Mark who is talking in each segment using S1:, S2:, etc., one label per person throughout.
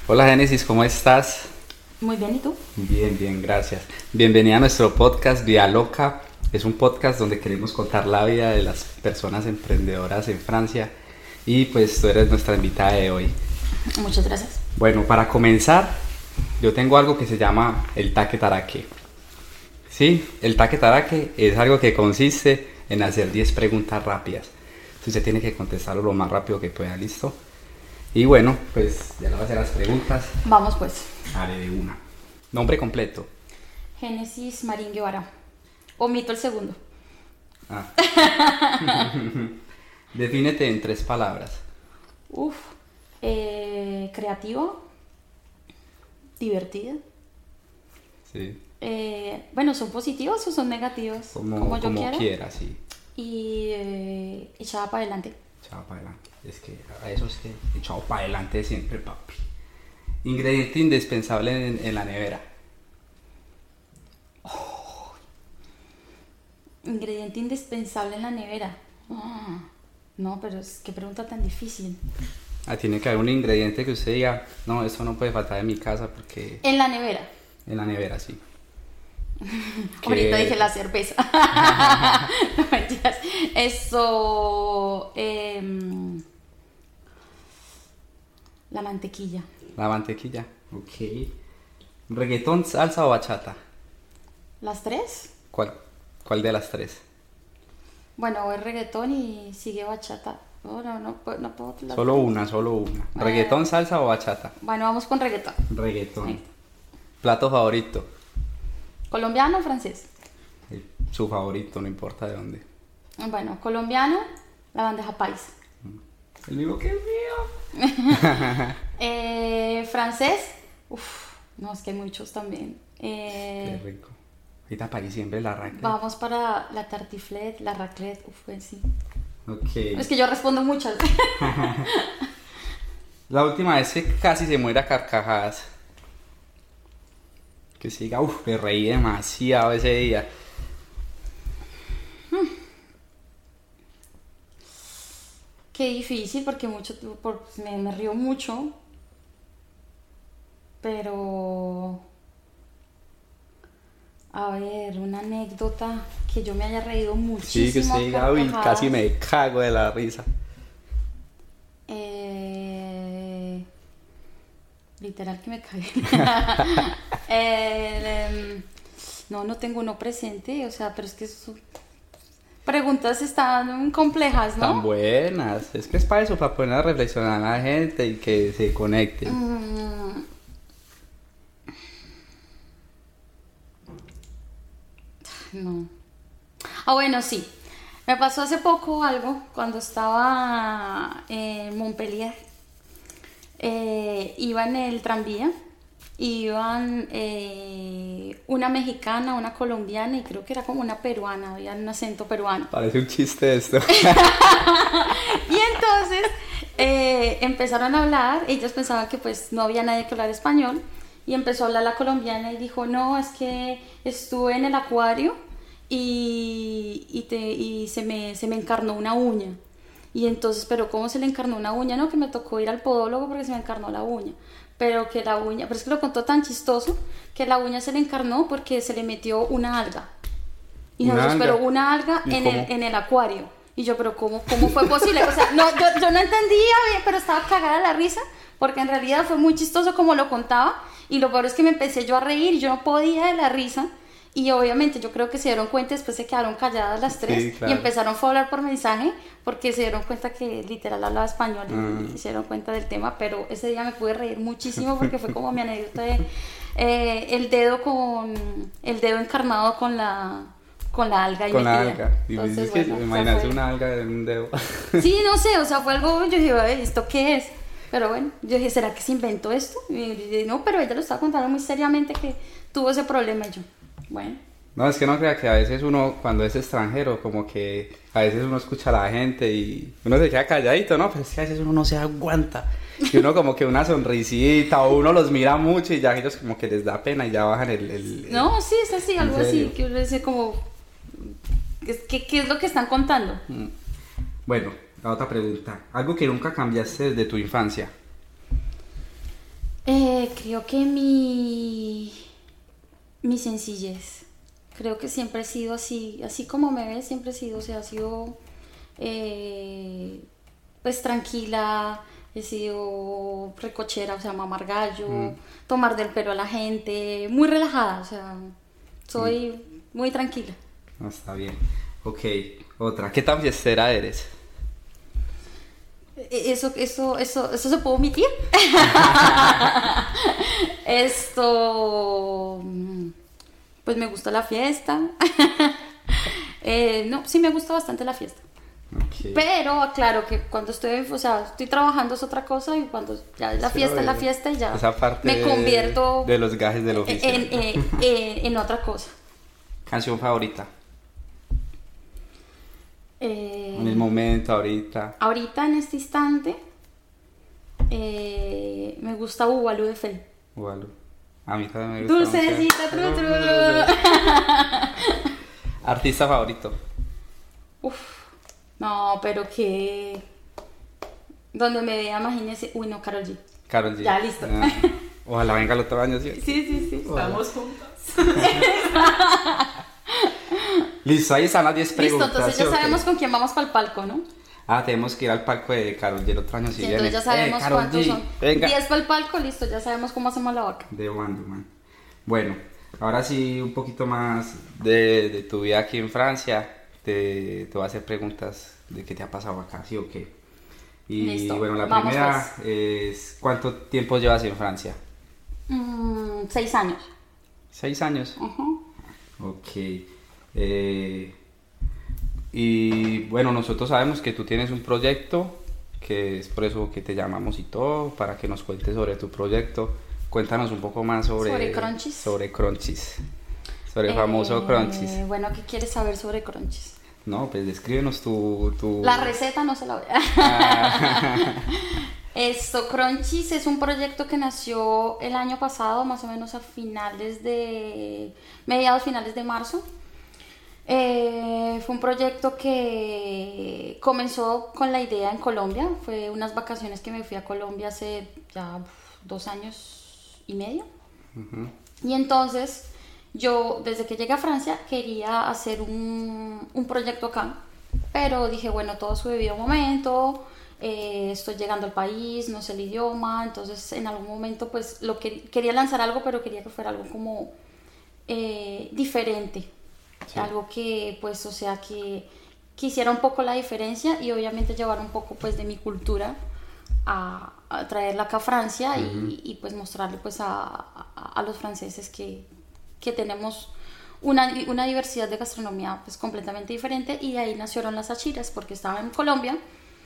S1: Hola Génesis, ¿cómo estás?
S2: Muy bien, ¿y tú?
S1: Bien, bien, gracias. Bienvenida a nuestro podcast Vía Loca. Es un podcast donde queremos contar la vida de las personas emprendedoras en Francia y pues tú eres nuestra invitada de hoy.
S2: Muchas gracias.
S1: Bueno, para comenzar, yo tengo algo que se llama el taque-taraque. Sí, el taque-taraque es algo que consiste en hacer 10 preguntas rápidas. Entonces usted tiene que contestarlo lo más rápido que pueda, ¿listo? Y bueno, pues ya le voy a hacer las preguntas.
S2: Vamos pues.
S1: Haré de una. Nombre completo.
S2: Génesis Marín Guevara. Omito el segundo.
S1: Ah. Defínete en 3 palabras.
S2: Creativo. Divertida.
S1: Sí.
S2: Bueno, ¿son positivos o son negativos?
S1: Como
S2: yo quiera.
S1: quiera, sí.
S2: Y echada para adelante.
S1: Echado para adelante. Es que a eso es que echado para adelante siempre, papi. Ingrediente indispensable en la nevera.
S2: Ingrediente indispensable en la nevera. No, pero qué pregunta tan difícil.
S1: Tiene que haber un ingrediente que usted diga, no, esto no puede faltar en mi casa porque...
S2: En la nevera.
S1: En la nevera, sí.
S2: Ahorita dije la cerveza. No mentiras. Eso. La mantequilla.
S1: La mantequilla, ok. ¿Reggaetón, salsa o bachata?
S2: ¿Las tres?
S1: ¿Cuál de las 3?
S2: Bueno, es reggaetón y sigue bachata. No puedo.
S1: Solo una. ¿Reggaetón, salsa o bachata?
S2: Bueno, vamos con reggaetón.
S1: Reggaetón.
S2: Sí.
S1: ¿Plato favorito?
S2: ¿Colombiano o francés?
S1: Su favorito, no importa de dónde.
S2: Bueno, colombiano, la bandeja paisa.
S1: El mismo que el mío.
S2: Francés, no, es que hay muchos también.
S1: Qué rico. Ahorita para diciembre la raclette.
S2: Vamos para la tartiflette, la raclette, pues sí.
S1: Ok.
S2: Es que yo respondo muchas.
S1: La última vez que casi se muere a carcajadas. Que se diga, me reí demasiado ese día.
S2: Qué difícil porque me río mucho. Pero... A ver, una anécdota que yo me haya reído muchísimo.
S1: Sí, que se diga, casi me cago de la risa.
S2: Literal que me cagué. No tengo uno presente, o sea, pero es que preguntas están complejas, ¿no?
S1: Tan buenas. Es que es para eso, para poner a reflexionar a la gente y que se conecten.
S2: No. Bueno, sí. Me pasó hace poco algo cuando estaba en Montpellier. Iba en el tranvía. Iban una mexicana, una colombiana y creo que era como una peruana. Había un acento peruano.
S1: Parece un chiste esto.
S2: Y entonces empezaron a hablar. Ellos pensaban que pues no había nadie que hablara español. Y empezó a hablar la colombiana y dijo, no, es que estuve en el acuario y se me encarnó una uña. Y entonces, ¿pero cómo se le encarnó una uña? No, que me tocó ir al podólogo porque se me encarnó la uña. Pero es que lo contó tan chistoso, que la uña se le encarnó porque se le metió una alga. Y nosotros, pero una alga en el acuario. Y yo, pero ¿cómo fue posible? O sea, no, yo no entendía bien, pero estaba cagada de la risa, porque en realidad fue muy chistoso como lo contaba. Y lo peor es que me empecé yo a reír y yo no podía de la risa. Y obviamente yo creo que se dieron cuenta, después se quedaron calladas las 3. Sí, claro. Y empezaron a hablar por mensaje porque se dieron cuenta que literal hablaba español y se dieron cuenta del tema. Pero ese día me pude reír muchísimo porque fue como mi anécdota de el dedo encarnado con la alga.
S1: Con la alga. Y
S2: entonces,
S1: es que imagínate una alga en un dedo.
S2: Sí, no sé, o sea, fue algo, yo dije, ¿esto qué es? Pero bueno, yo dije, ¿será que se inventó esto? Y yo dije, no, pero ella lo estaba contando muy seriamente que tuvo ese problema. Y yo, bueno.
S1: No, es que no crea que a veces uno, cuando es extranjero, como que a veces uno escucha a la gente y uno se queda calladito, ¿no? Pero es que a veces uno no se aguanta. Y uno como que una sonrisita o uno los mira mucho y ya ellos como que les da pena y ya bajan el
S2: No, sí, es así, algo así, que uno dice como, ¿qué es lo que están contando?
S1: Bueno, la otra pregunta. Algo que nunca cambiaste desde tu infancia.
S2: Creo que mi sencillez. Creo que siempre he sido así, así como me ves, siempre he sido, o sea, he sido pues tranquila, he sido recochera, o sea, mamar gallo, tomar del pelo a la gente, muy relajada, o sea, soy muy tranquila.
S1: No, está bien. Ok, otra. ¿Qué tan fiestera eres?
S2: ¿Eso se puede omitir? Pues me gusta la fiesta. No, sí me gusta bastante la fiesta.
S1: Okay.
S2: Pero aclaro que cuando estoy trabajando es otra cosa y cuando ya es la fiesta es la fiesta y ya
S1: esa parte
S2: me convierto
S1: de los gajes del oficio.
S2: En otra cosa.
S1: ¿Canción favorita? En el momento, ahorita.
S2: Ahorita, en este instante, me gusta Ubalú de Feli.
S1: Ubalú. A mí también me gusta.
S2: Dulcecita, tru.
S1: ¿Artista favorito?
S2: No, pero que... Donde me vea, imagínese... Uy, no, Karol G.
S1: Karol G.
S2: Ya, listo.
S1: Ojalá venga el otro año, ¿sí?
S2: Sí.
S3: Estamos juntas.
S1: Listo, ahí están las 10 preguntas.
S2: Listo, entonces ya
S1: ¿sí?
S2: sabemos con quién vamos para el palco, ¿no?
S1: Tenemos que ir al palco de Karol G el otro año si viene.
S2: Entonces ya sabemos
S1: Karol
S2: cuántos
S1: G,
S2: son.
S1: venga.
S2: 10 para el palco, listo, ya sabemos cómo hacemos la vaca.
S1: De Wonder Man. Bueno, ahora sí un poquito más de tu vida aquí en Francia. Te voy a hacer preguntas de qué te ha pasado acá, ¿sí o qué? Y
S2: Listo,
S1: bueno, la
S2: vamos
S1: primera es ¿cuánto tiempo llevas en Francia?
S2: 6 años.
S1: 6 años.
S2: Uh-huh.
S1: Ok. Y bueno, nosotros sabemos que tú tienes un proyecto, que es por eso que te llamamos y todo, para que nos cuentes sobre tu proyecto. Cuéntanos un poco más sobre
S2: Crunchies.
S1: Sobre Crunchies. Sobre el famoso Crunchies.
S2: Bueno, ¿qué quieres saber sobre Crunchies?
S1: No, pues descríbenos tu...
S2: La receta no se la voy Crunchies es un proyecto que nació el año pasado, más o menos a mediados finales de marzo. Fue un proyecto que comenzó con la idea en Colombia. Fue unas vacaciones que me fui a Colombia hace ya 2 años y medio.
S1: Uh-huh.
S2: Y entonces yo, desde que llegué a Francia, quería hacer un proyecto acá, pero dije, bueno, todo a su debido momento, estoy llegando al país, no sé el idioma, entonces en algún momento pues quería lanzar algo, pero quería que fuera algo como diferente, sí. Algo que pues, o sea, que hiciera un poco la diferencia y obviamente llevar un poco pues de mi cultura a traerla acá a Francia. Uh-huh. y pues mostrarle pues a los franceses que tenemos una diversidad de gastronomía pues completamente diferente, y de ahí nacieron las achiras porque estaba en Colombia.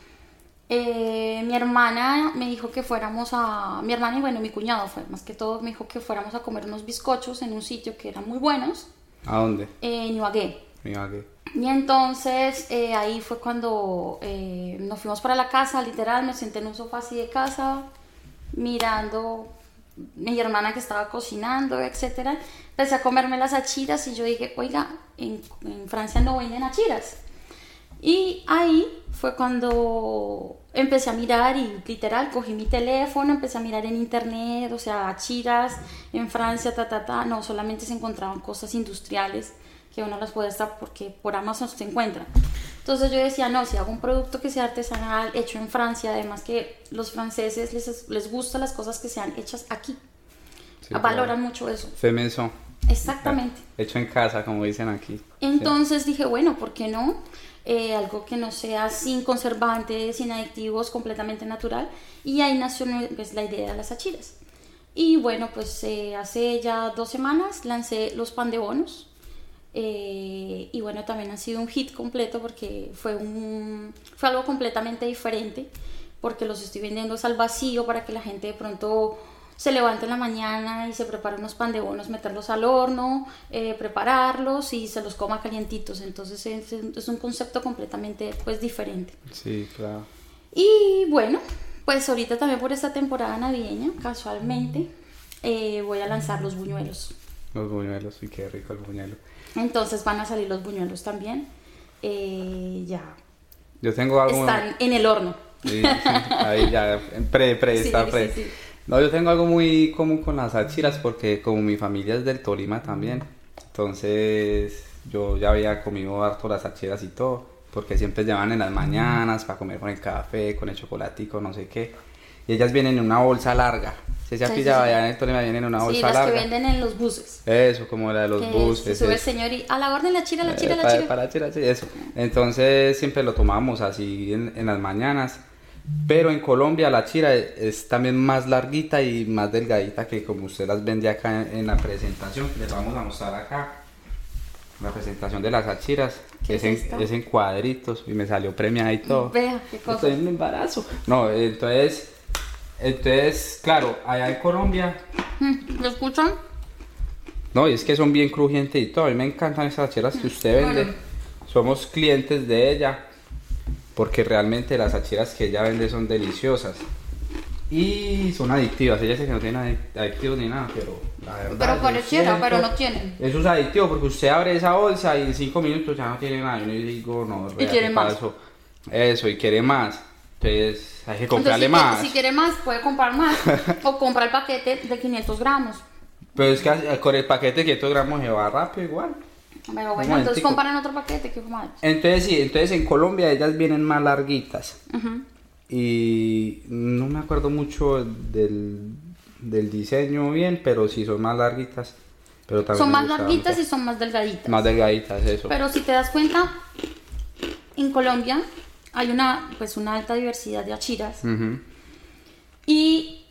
S2: Mi hermana me dijo que fuéramos mi hermana y bueno, mi cuñado fue más que todo, me dijo que fuéramos a comer unos bizcochos en un sitio que eran muy buenos.
S1: ¿A dónde?
S2: En Ibagué.
S1: Ibagué.
S2: Y entonces ahí fue cuando nos fuimos para la casa, literal, me senté en un sofá así de casa, mirando mi hermana que estaba cocinando, etcétera. Empecé a comerme las achiras y yo dije, oiga, en Francia no venden achiras. Y ahí fue cuando empecé a mirar y literal cogí mi teléfono, empecé a mirar en internet, o sea, achiras en Francia, no, solamente se encontraban cosas industriales que uno las puede estar porque por Amazon se encuentran. Entonces yo decía, no, si hago un producto que sea artesanal, hecho en Francia, además que los franceses les gustan las cosas que sean hechas aquí, sí, valoran mucho eso.
S1: Fait maison.
S2: Exactamente.
S1: Hecho en casa, como dicen aquí.
S2: Entonces dije, bueno, ¿por qué no? Algo que no sea sin conservantes, sin aditivos, completamente natural. Y ahí nació pues, la idea de las achiras. Y bueno, pues hace ya 2 semanas lancé los pan de bonos. Y bueno, también ha sido un hit completo porque fue algo completamente diferente, porque los estoy vendiendo al vacío para que la gente de pronto se levante en la mañana y se prepare unos pan de bonos, meterlos al horno, prepararlos y se los coma calientitos. Entonces es un concepto completamente pues diferente.
S1: Sí, claro.
S2: Y bueno, pues ahorita también por esta temporada navideña, casualmente, voy a lanzar los buñuelos.
S1: Los buñuelos, y qué rico el buñuelo.
S2: Entonces van a salir los buñuelos también. Ya.
S1: Yo tengo algo.
S2: Están en el horno.
S1: Sí, ahí ya, está pre.
S2: Sí.
S1: No, yo tengo algo muy común con las achiras porque como mi familia es del Tolima también, entonces yo ya había comido harto las achiras y todo, porque siempre llevan en las mañanas para comer con el café, con el chocolatico, no sé qué. Y ellas vienen en una bolsa larga. Se ha pillado allá en el Tolima, vienen en una bolsa larga.
S2: Sí, las que venden en los buses.
S1: Eso, como la de los buses.
S2: Se sube el señor y a la orden la chira,
S1: Para la chira, eso. Entonces siempre lo tomamos así en las mañanas. Pero en Colombia la chira es también más larguita y más delgadita que como usted las vende acá en la presentación. Les vamos a mostrar acá la presentación de las achiras. Que es en cuadritos y me salió premiada y todo.
S2: Vea, qué cosa.
S1: Estoy en un embarazo. No, entonces, claro, allá en Colombia...
S2: ¿Lo escuchan?
S1: No, y es que son bien crujientes y todo. A mí me encantan esas achiras que usted vende.
S2: Bueno.
S1: Somos clientes de ella. Porque realmente las achiras que ella vende son deliciosas. Y son adictivas. Ella dice que no tienen adictivos ni nada, pero la verdad...
S2: Pero pareciera, pero no tienen.
S1: Eso es adictivo porque usted abre esa bolsa y en 5 minutos ya no tiene nada. Y yo digo, no,
S2: y quiere más.
S1: Eso, y quiere más. Entonces hay que comprarle
S2: Entonces,
S1: más.
S2: Si quiere más, puede comprar más. O compra el paquete de 500 gramos.
S1: Pero es que con el paquete de 500 gramos se va rápido igual.
S2: Pero bueno, entonces compran otro paquete que más.
S1: Entonces sí, entonces en Colombia ellas vienen más larguitas. Y no me acuerdo mucho del diseño bien, pero sí son más larguitas. Pero también
S2: son más larguitas y son más delgaditas.
S1: Más delgaditas, eso.
S2: Pero si te das cuenta, en Colombia hay una alta diversidad de achiras. Y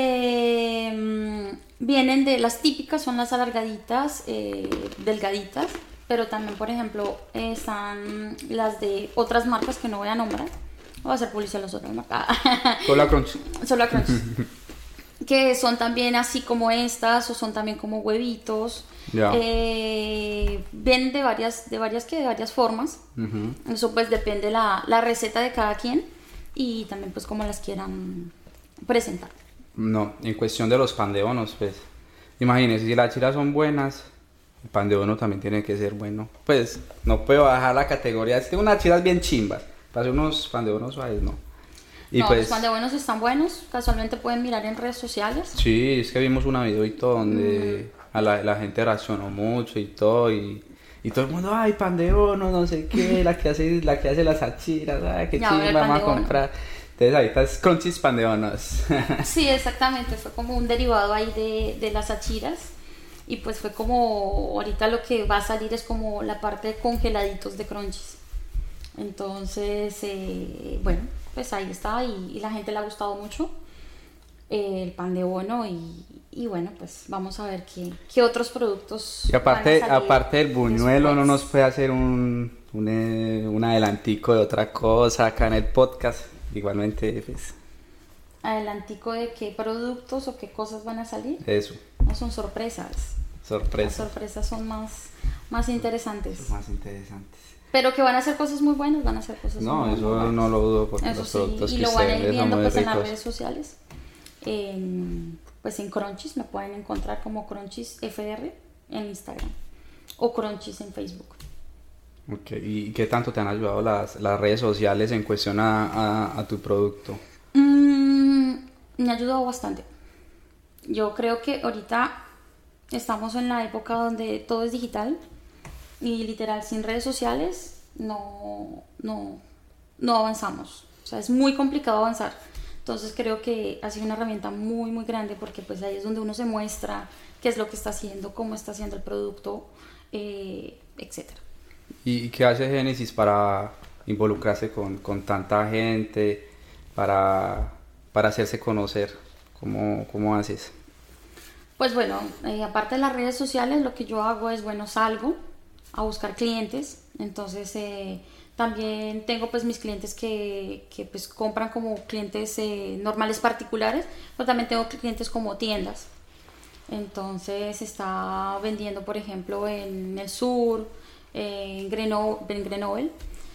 S2: vienen de las típicas, son las alargaditas, delgaditas. Pero también, por ejemplo, están las de otras marcas que no voy a nombrar. Voy a hacer publicidad a las otras marcas.
S1: Solo Crunch.
S2: Solo Crunch. Que son también así como estas, o son también como huevitos. Vienen de varias formas. Eso pues depende la receta de cada quien. Y también pues como las quieran presentar.
S1: No, en cuestión de los pan de bonos, pues imagínense, si las achiras son buenas, el pan de bono también tiene que ser bueno. Pues no puedo bajar la categoría. Es que unas achiras bien chimbas. Para hacer unos pan de bono suaves, no. Y
S2: no,
S1: pues,
S2: los pan de bonos están buenos. Casualmente pueden mirar en redes sociales.
S1: Sí, es que vimos una video y todo donde a la gente reaccionó mucho y todo. Y todo el mundo, ay, pan de bono, no sé qué, la que hace las achiras, ay, qué chimba, vamos a comprar. Entonces ahorita es Crunchies pan de bonos.
S2: Sí, exactamente. Fue como un derivado ahí de las achiras. Y pues fue como, ahorita lo que va a salir es como la parte de congeladitos de Crunchies. Entonces, bueno, pues ahí está y la gente le ha gustado mucho el pan de bono y bueno, pues vamos a ver qué otros productos
S1: y aparte,
S2: van a salir
S1: aparte del buñuelo, ¿no nos puede hacer un adelantico de otra cosa acá en el podcast? Igualmente, pues...
S2: ¿Adelantico de qué productos o qué cosas van a salir?
S1: Eso.
S2: No, son sorpresas. Las sorpresas son más interesantes.
S1: Son más interesantes.
S2: Pero que van a hacer cosas muy buenas, van a hacer cosas muy buenas.
S1: No, eso no lo dudo porque
S2: eso
S1: los productos
S2: sí, y
S1: que
S2: lo van a ir
S1: ustedes
S2: viendo
S1: son muy
S2: pues en
S1: ricos.
S2: las redes sociales. Pues en Crunchies me pueden encontrar como Crunchies FR en Instagram o Crunchies en Facebook.
S1: Ok, ¿y qué tanto te han ayudado las redes sociales en cuestión a tu producto?
S2: Me ha ayudado bastante. Yo creo que ahorita estamos en la época donde todo es digital y literal sin redes sociales no avanzamos. O sea, es muy complicado avanzar. Entonces creo que ha sido una herramienta muy muy grande porque pues ahí es donde uno se muestra qué es lo que está haciendo, cómo está haciendo el producto, etcétera.
S1: ¿Y qué hace Génesis para involucrarse con tanta gente, para hacerse conocer? ¿Cómo haces?
S2: Pues bueno, aparte de las redes sociales, lo que yo hago es, bueno, salgo a buscar clientes. Entonces también tengo pues mis clientes que pues compran como clientes normales particulares, pero también tengo clientes como tiendas. Entonces está vendiendo, por ejemplo, en el sur, en Grenoble,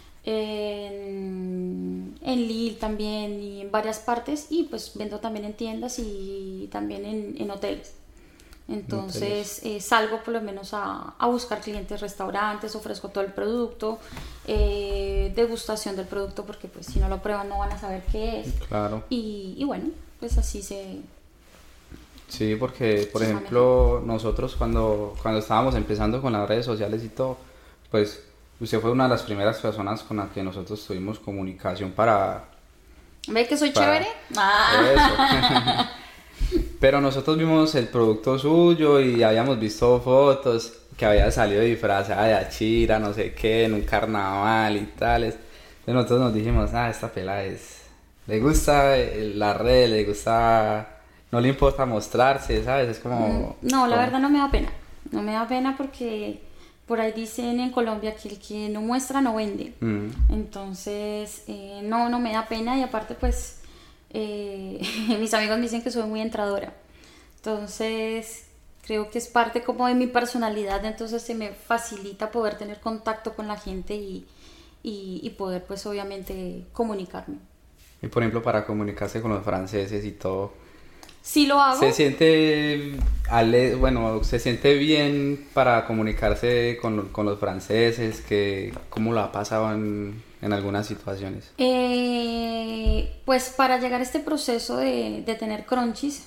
S2: en Lille también y en varias partes, y pues vendo también en tiendas y también en hoteles. Entonces salgo por lo menos a buscar clientes, restaurantes, ofrezco todo el producto, degustación del producto porque pues si no lo prueban no van a saber qué es.
S1: Claro.
S2: Y bueno, pues así se
S1: Sí, porque, por
S2: Está
S1: ejemplo, nosotros cuando estábamos empezando con las redes sociales y todo, pues usted fue una de las primeras personas con las que nosotros tuvimos comunicación
S2: ¿Ve que soy
S1: para
S2: chévere? Ah.
S1: eso. Pero nosotros vimos el producto suyo y habíamos visto fotos que había salido disfrazada de Achira, no sé qué, en un carnaval y tales. Entonces nosotros nos dijimos, esta pela le gusta la red, le gusta, no le importa mostrarse, ¿sabes? Es como...
S2: No, la verdad no me da pena. No me da pena porque por ahí dicen en Colombia que el que no muestra no vende. Entonces, no me da pena y aparte pues mis amigos me dicen que soy muy entradora. Entonces, creo que es parte como de mi personalidad, entonces se me facilita poder tener contacto con la gente y poder pues obviamente comunicarme.
S1: Y por ejemplo, para comunicarse con los franceses y todo,
S2: Sí lo hago.
S1: se siente, se siente bien para comunicarse con los franceses, ¿cómo lo ha pasado en algunas situaciones?
S2: Pues para llegar a este proceso de tener crunchies,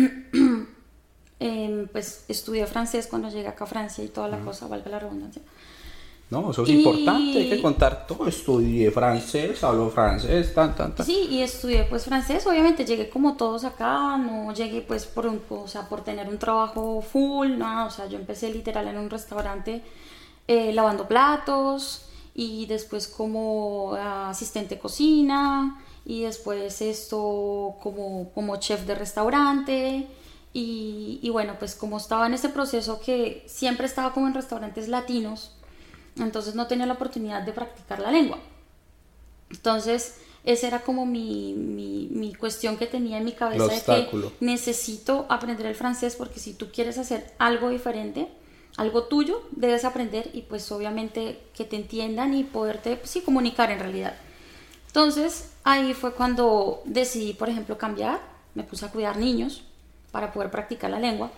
S2: pues estudié francés cuando llegué acá a Francia y toda la cosa, valga la redundancia.
S1: No, eso es importante, hay que contar todo. Estudié francés, hablo francés, tan.
S2: Sí, y estudié pues francés, obviamente llegué como todos acá, no llegué pues por tener un trabajo full, no, o sea, yo empecé literal en un restaurante lavando platos y después como asistente de cocina y después esto como chef de restaurante y bueno, pues como estaba en ese proceso que siempre estaba como en restaurantes latinos, entonces no tenía la oportunidad de practicar la lengua. Entonces esa era como mi cuestión que tenía en mi cabeza de que necesito aprender el francés porque si tú quieres hacer algo diferente, algo tuyo, debes aprender y pues obviamente que te entiendan y poderte pues, sí, comunicar en realidad. Entonces ahí fue cuando decidí, por ejemplo, cambiar, me puse a cuidar niños para poder practicar la lengua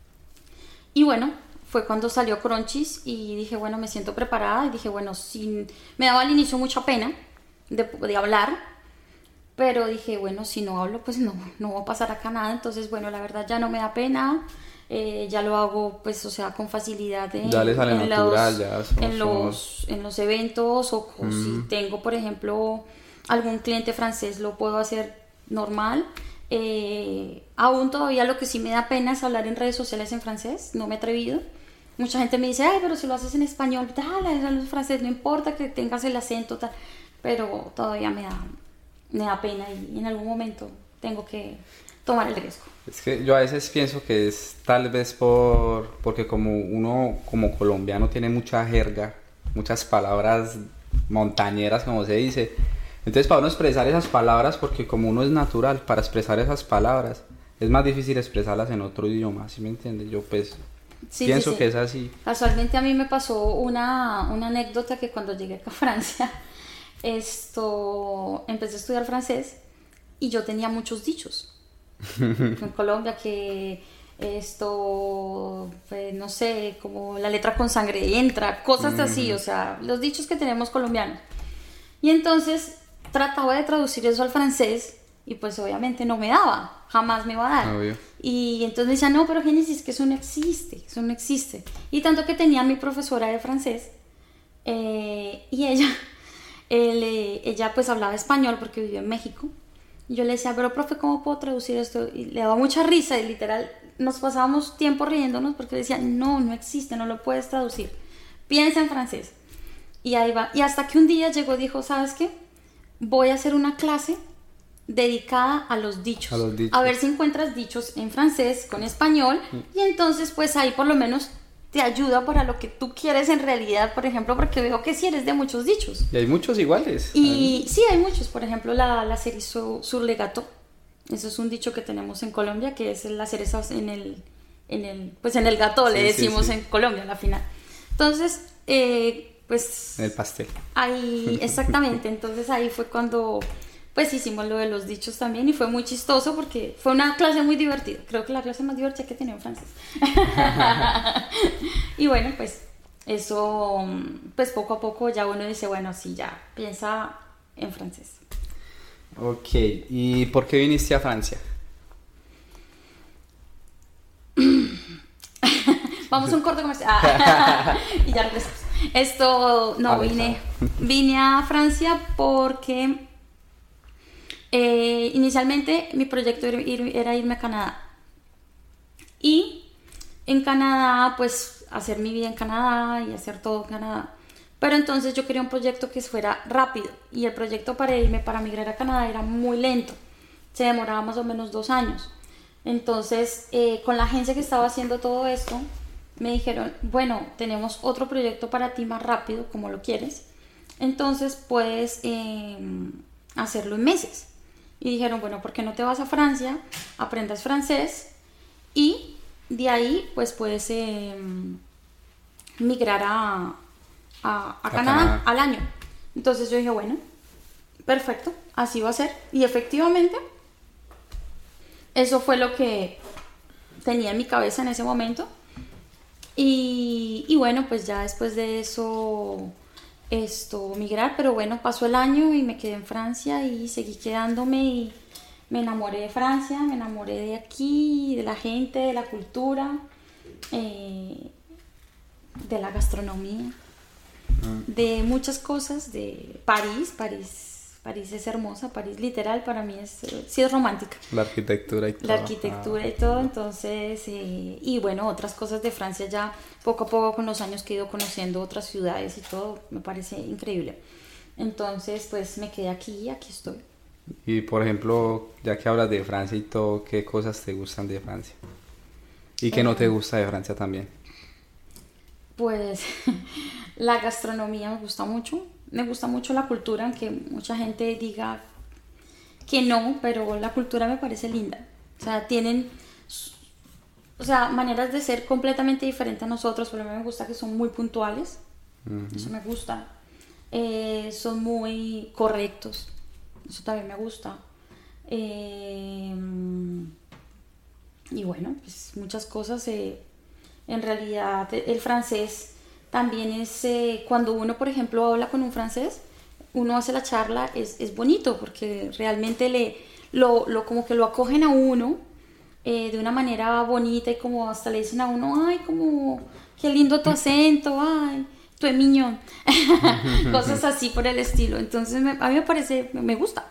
S2: y bueno, fue cuando salió Crunchies y dije, bueno, me siento preparada y dije, bueno, me daba al inicio mucha pena de hablar, pero dije, bueno, si no hablo, pues no va a pasar acá nada, entonces, bueno, la verdad ya no me da pena, ya lo hago, pues, o sea, con facilidad
S1: ya le sale natural,
S2: en los eventos o si tengo, por ejemplo, algún cliente francés, lo puedo hacer normal. Aún todavía lo que sí me da pena es hablar en redes sociales en francés, no me he atrevido. Mucha gente me dice, pero si lo haces en español, en francés, no importa que tengas el acento, tal. Pero todavía me da pena y en algún momento tengo que tomar el riesgo.
S1: Es que yo a veces pienso que es tal vez porque como uno como colombiano tiene mucha jerga, muchas palabras montañeras como se dice, entonces para uno expresar esas palabras, porque como uno es natural para expresar esas palabras, es más difícil expresarlas en otro idioma, ¿sí me entiendes? Yo pues...
S2: Sí,
S1: pienso que es así.
S2: Casualmente a mí me pasó una anécdota que cuando llegué acá a Francia, empecé a estudiar francés y yo tenía muchos dichos. En Colombia que no sé, como la letra con sangre entra, cosas así, o sea, los dichos que tenemos colombianos. Y entonces trataba de traducir eso al francés y pues obviamente no me daba, jamás me iba a dar.
S1: Obvio.
S2: Y entonces me decía, no, pero Génesis, que eso no existe. Y tanto que tenía mi profesora de francés y ella pues hablaba español porque vivió en México. Y yo le decía, pero profe, ¿cómo puedo traducir esto? Y le daba mucha risa y literal nos pasábamos tiempo riéndonos porque le decía, no existe, no lo puedes traducir. Piensa en francés. Y ahí va. Y hasta que un día llegó y dijo, ¿sabes qué? Voy a hacer una clase dedicada a los dichos. A ver si encuentras dichos en francés con español y entonces pues ahí por lo menos te ayuda para lo que tú quieres en realidad, por ejemplo, porque veo que sí eres de muchos dichos.
S1: Y hay muchos iguales.
S2: Y sí, hay muchos. Por ejemplo, la cerise sur le gâteau. Eso es un dicho que tenemos en Colombia, que es la cereza en el gâteau, le decimos en Colombia, a la final. Entonces, pues...
S1: en el pastel.
S2: Ahí, exactamente. Entonces ahí fue cuando... pues hicimos lo de los dichos también y fue muy chistoso porque fue una clase muy divertida. Creo que la clase más divertida que tenía en francés. Y bueno, pues eso, pues poco a poco ya uno dice, bueno, sí, ya piensa en francés.
S1: Ok, ¿y por qué viniste a Francia?
S2: Vamos a un corte comercial. Y ya regresamos. No,
S1: Vale,
S2: vine a Francia porque inicialmente mi proyecto era irme a Canadá. Y en Canadá, pues hacer mi vida en Canadá y hacer todo en Canadá. Pero entonces yo quería un proyecto que fuera rápido y el proyecto para migrar a Canadá era muy lento. Se demoraba más o menos 2 años. Entonces, con la agencia que estaba haciendo todo esto, me dijeron, bueno, tenemos otro proyecto para ti más rápido, como lo quieres. Entonces puedes hacerlo en meses. Y dijeron, bueno, ¿por qué no te vas a Francia? Aprendas francés y de ahí pues puedes migrar a Canadá al año. Entonces yo dije, bueno, perfecto, así va a ser. Y efectivamente, eso fue lo que tenía en mi cabeza en ese momento. Y bueno, pues ya después de eso, migrar, pero bueno, pasó el año y me quedé en Francia y seguí quedándome y me enamoré de Francia, me enamoré de aquí, de la gente, de la cultura, de la gastronomía, de muchas cosas, de París es hermosa, París literal para mí sí es romántica.
S1: La arquitectura y todo.
S2: La arquitectura y todo, entonces, y bueno, otras cosas de Francia ya poco a poco con los años que he ido conociendo otras ciudades y todo, me parece increíble. Entonces, pues me quedé aquí estoy.
S1: Y por ejemplo, ya que hablas de Francia y todo, ¿qué cosas te gustan de Francia? ¿Y qué no te gusta de Francia también?
S2: Pues la gastronomía me gusta mucho la cultura, aunque mucha gente diga que no, pero la cultura me parece linda. O sea, tienen maneras de ser completamente diferentes a nosotros, pero a mí me gusta que son muy puntuales, eso me gusta. Son muy correctos, eso también me gusta. Y bueno, pues muchas cosas. En realidad, el francés también es, cuando uno, por ejemplo, habla con un francés, uno hace la charla, es bonito, porque realmente como que lo acogen a uno de una manera bonita y como hasta le dicen a uno, ay, como, qué lindo tu acento, ay, tu es miñón. Cosas así por el estilo. Entonces, a mí me parece, me gusta.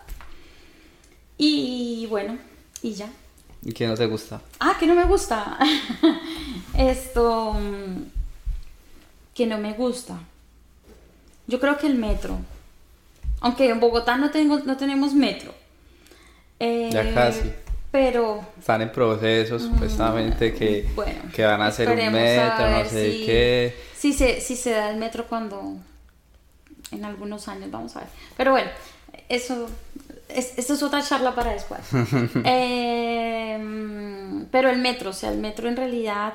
S2: Y bueno, y ya.
S1: ¿Y qué no te gusta?
S2: Que no me gusta. Que no me gusta. Yo creo que el metro. Aunque en Bogotá no tenemos metro.
S1: Ya casi.
S2: Pero
S1: están en procesos supuestamente que van a hacer un metro, no sé qué.
S2: Si se da el metro cuando en algunos años, vamos a ver. Pero bueno, eso es otra charla para después. Pero el metro, o sea, el metro en realidad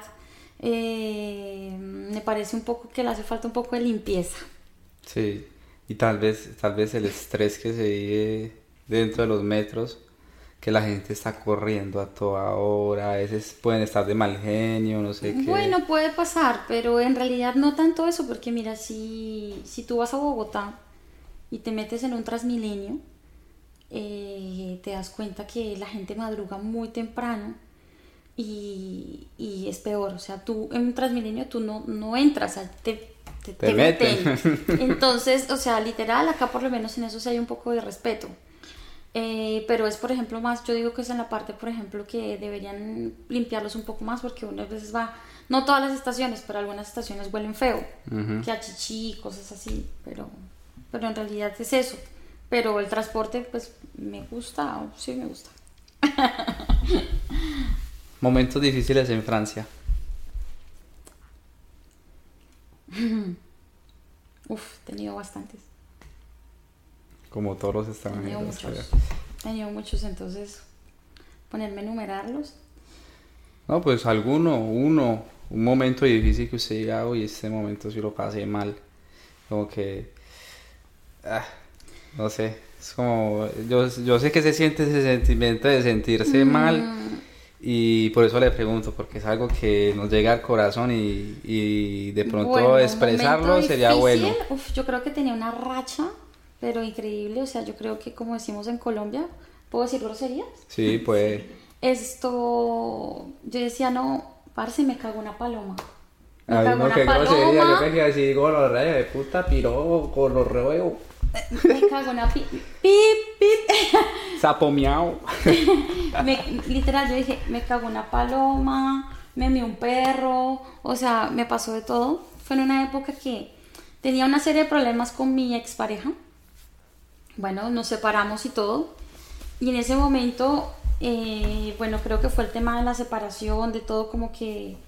S2: me parece un poco que le hace falta un poco de limpieza.
S1: Sí, y tal vez el estrés que se vive dentro de los metros, que la gente está corriendo a toda hora, a veces pueden estar de mal genio, no sé qué.
S2: Bueno, puede pasar, pero en realidad no tanto eso, porque mira, si tú vas a Bogotá y te metes en un Transmilenio, te das cuenta que la gente madruga muy temprano y es peor. O sea, tú en un Transmilenio tú no entras, o sea, te meten. Entonces, o sea, literal, acá por lo menos en eso sí hay un poco de respeto. Pero es, por ejemplo, más, yo digo que es en la parte, por ejemplo, que deberían limpiarlos un poco más, porque unas veces no todas las estaciones, pero algunas estaciones huelen feo, que a chichi, cosas así, pero en realidad es eso. Pero el transporte, pues, me gusta, sí me gusta.
S1: Momentos difíciles en Francia.
S2: He tenido bastantes.
S1: Como todos los extranjeros.
S2: He tenido muchos, entonces, ponerme a enumerarlos.
S1: No, pues un momento difícil que usted diga, uy, este momento sí lo pasé mal. Como que, no sé, es como, yo sé que se siente ese sentimiento de sentirse mal, y por eso le pregunto, porque es algo que nos llega al corazón y de pronto expresarlo sería bueno.
S2: Yo creo que tenía una racha, pero increíble, o sea, yo creo que, como decimos en Colombia, ¿puedo decir groserías?
S1: Sí, pues.
S2: Yo decía, no, parce, me cago una paloma. Me
S1: Ay,
S2: cagó
S1: no,
S2: una
S1: qué grosería, yo
S2: paloma.
S1: pensé así, gonorrea de puta, piro, gonorreo,
S2: Me cagó una pip.
S1: sapo miau.
S2: Literal, yo dije, me cagó una paloma, me mió un perro, o sea, me pasó de todo. Fue en una época que tenía una serie de problemas con mi expareja. Bueno, nos separamos y todo. Y en ese momento, bueno, creo que fue el tema de la separación, de todo como que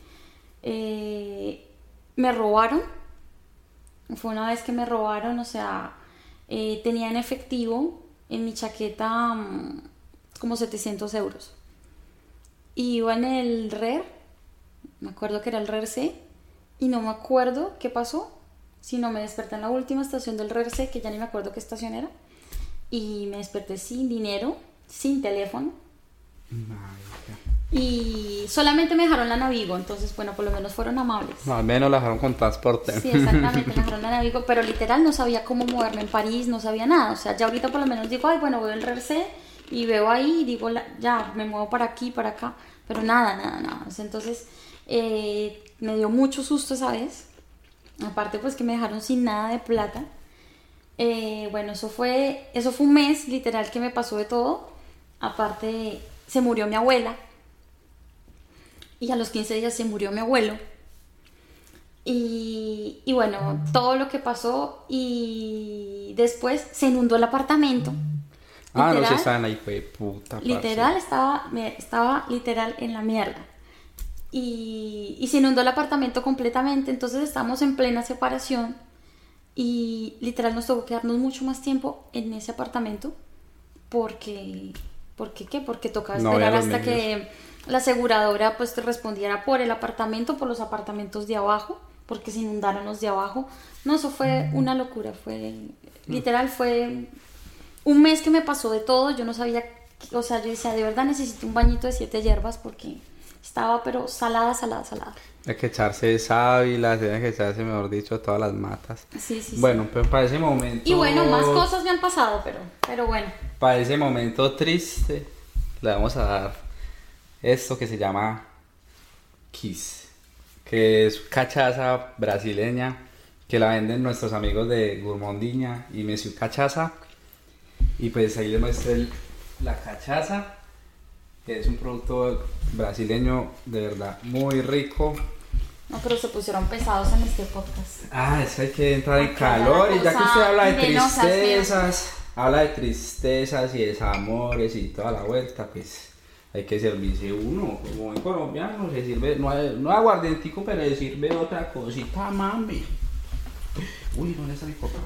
S2: me robaron. Fue una vez que me robaron, o sea, tenía en efectivo en mi chaqueta como 700 euros. Y iba en el RER, me acuerdo que era el RER C, y no me acuerdo qué pasó, sino me desperté en la última estación del RER C, que ya ni me acuerdo qué estación era, y me desperté sin dinero, sin teléfono, y solamente me dejaron la Navigo, entonces bueno, por lo menos fueron amables.
S1: No, al menos la dejaron con transporte.
S2: Sí, exactamente, me dejaron la Navigo, pero literal no sabía cómo moverme en París, no sabía nada, o sea, ya ahorita por lo menos digo, ay, bueno, voy al RER C y veo ahí y digo, ya, me muevo para aquí, para acá, pero nada, o sea, entonces me dio mucho susto esa vez, aparte pues que me dejaron sin nada de plata. Bueno, eso fue un mes literal que me pasó de todo. Aparte se murió mi abuela y a los 15 días se murió mi abuelo y bueno, todo lo que pasó, y después se inundó el apartamento.
S1: Ah,
S2: Literal,
S1: no se están ahí, fue puta.
S2: literal estaba literal en la mierda. Y se inundó el apartamento completamente. Entonces estábamos en plena separación y literal nos tuvo que quedarnos mucho más tiempo en ese apartamento porque tocaba
S1: No
S2: esperar
S1: había los
S2: hasta que la aseguradora pues te respondiera por el apartamento, por los apartamentos de abajo, porque se inundaron los de abajo. No, eso fue una locura, literal fue un mes que me pasó de todo. Yo no sabía, o sea, yo decía, de verdad necesito un bañito de 7 hierbas porque estaba pero salada.
S1: Hay que echarse sábila, tiene que echarse, mejor dicho, todas las matas.
S2: Sí.
S1: Bueno, pero para ese momento...
S2: Y bueno, más cosas me han pasado, pero bueno.
S1: Para ese momento triste, le vamos a dar esto que se llama Kiss, que es cachaza brasileña, que la venden nuestros amigos de Gourmandiña y Monsieur Cachaza. Y pues ahí les muestro la cachaza, que es un producto brasileño de verdad muy rico.
S2: No, pero se pusieron pesados en este podcast.
S1: Ah, es que hay que entrar en
S2: Acá
S1: calor,
S2: la
S1: y ya que
S2: cosa
S1: usted habla de
S2: venenosa,
S1: tristezas, habla de tristezas y desamores y toda la vuelta, pues hay que servirse uno, como en colombiano se sirve, no es aguardientico, pero se sirve otra cosita, mami. Uy, ¿dónde está mi copa?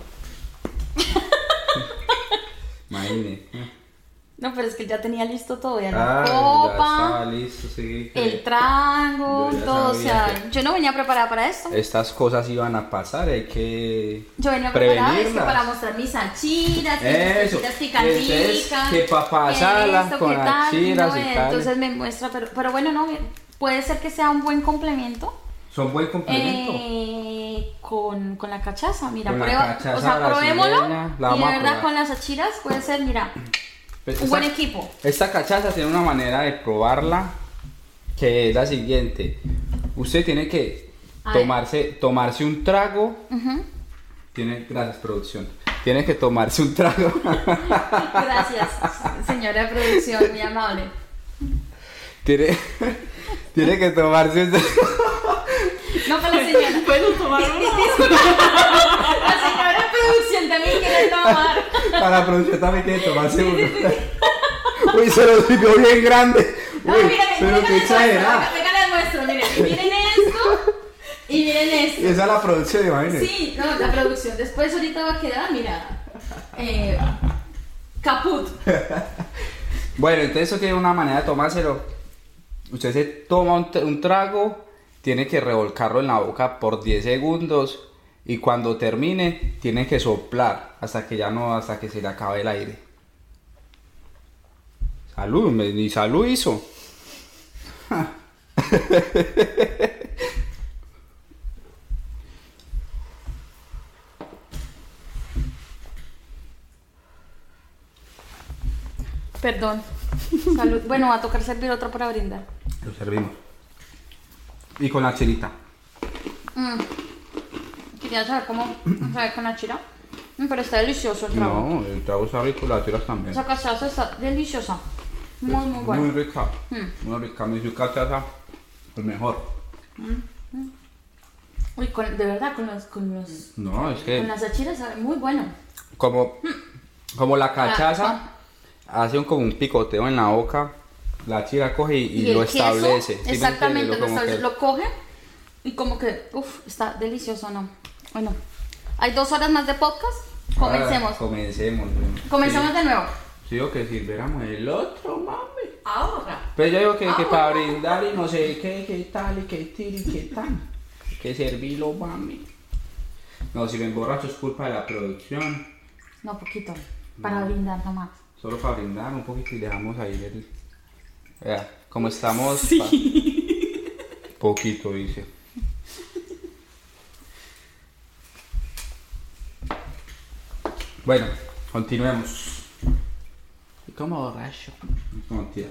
S1: Imagínate.
S2: No, pero es que ya tenía listo todo, ya la
S1: Ah, ya
S2: copa,
S1: estaba listo, sí.
S2: el trago,
S1: Yo ya
S2: todo, o
S1: sabía
S2: sea, yo no venía preparada para esto.
S1: Estas cosas iban a pasar, hay que
S2: Yo venía preparada
S1: prevenirlas.
S2: para mostrar mis achiras,
S1: Eso,
S2: mis picanticas,
S1: que pa' pasarla
S2: esto,
S1: con
S2: qué tal,
S1: achiras
S2: no,
S1: y tal.
S2: entonces me muestra, pero bueno, no, puede ser que sea un buen complemento.
S1: Son buen complemento.
S2: Con la cachaza, mira,
S1: Con la
S2: prueba,
S1: cachaza
S2: o sea, probémoslo,
S1: brasileña, la
S2: y de
S1: vamos a
S2: verdad
S1: probar.
S2: con las achiras puede ser, mira,
S1: Pues
S2: un buen equipo.
S1: Esta cachaza tiene una manera de probarla que es la siguiente. Usted tiene que
S2: A ver.
S1: tomarse un trago. Gracias, producción. Tiene que tomarse un trago.
S2: Gracias, señora de producción, muy amable.
S1: Tiene que tomarse un trago.
S2: No, para la señora.
S3: ¿Puedo tomar uno?
S2: La señora de producción también quiere tomar.
S1: Para la producción también tiene que tomarse uno. Uy, se lo sirvió bien grande.
S2: No,
S1: Uy,
S2: mira,
S1: pero qué exagerada.
S2: Venga, les muestro, miren esto y miren esto.
S1: Esa es la producción, imagínense.
S2: Sí, no, la producción. Después ahorita va a quedar, mira, caput.
S1: Bueno, entonces eso tiene una manera de tomárselo. Usted se toma un trago, tiene que revolcarlo en la boca por 10 segundos y cuando termine tiene que soplar hasta que se le acabe el aire. Salud, ni salud hizo.
S2: Perdón. Salud. Bueno, va a tocar servir otro para brindar.
S1: Lo servimos. Y con la chelita.
S2: Quería saber cómo sabe con la chira. Pero está delicioso el trago.
S1: No, el trago está rico, las chiras también.
S2: Esa cachaza está deliciosa. Muy, muy buena.
S1: Muy rica. Muy rica. Mi cachaza, el mejor.
S2: Uy, de verdad,
S1: No, es que
S2: con las achiras sabe muy bueno.
S1: como la cachaza hace como un picoteo en la boca, la chira coge y lo
S2: el queso,
S1: establece. ¿Sí me
S2: exactamente,
S1: entiendes?
S2: lo coge y como que, está delicioso, ¿no? Bueno, hay 2 horas más de podcast. Comencemos. Comencemos
S1: Sí.
S2: de nuevo.
S1: Sí, o que sirviéramos el otro, mami.
S2: Ahora.
S1: Pero yo digo que para brindar y no sé qué tal y qué tiro y qué tal. Que servirlo, mami. No, si me emborracho es culpa de la producción.
S2: No, poquito. Para brindar nomás.
S1: Solo para brindar un poquito y dejamos ahí el... Vea, como estamos... Poquito, dice. Bueno, continuemos. Y como borracho. No, tías.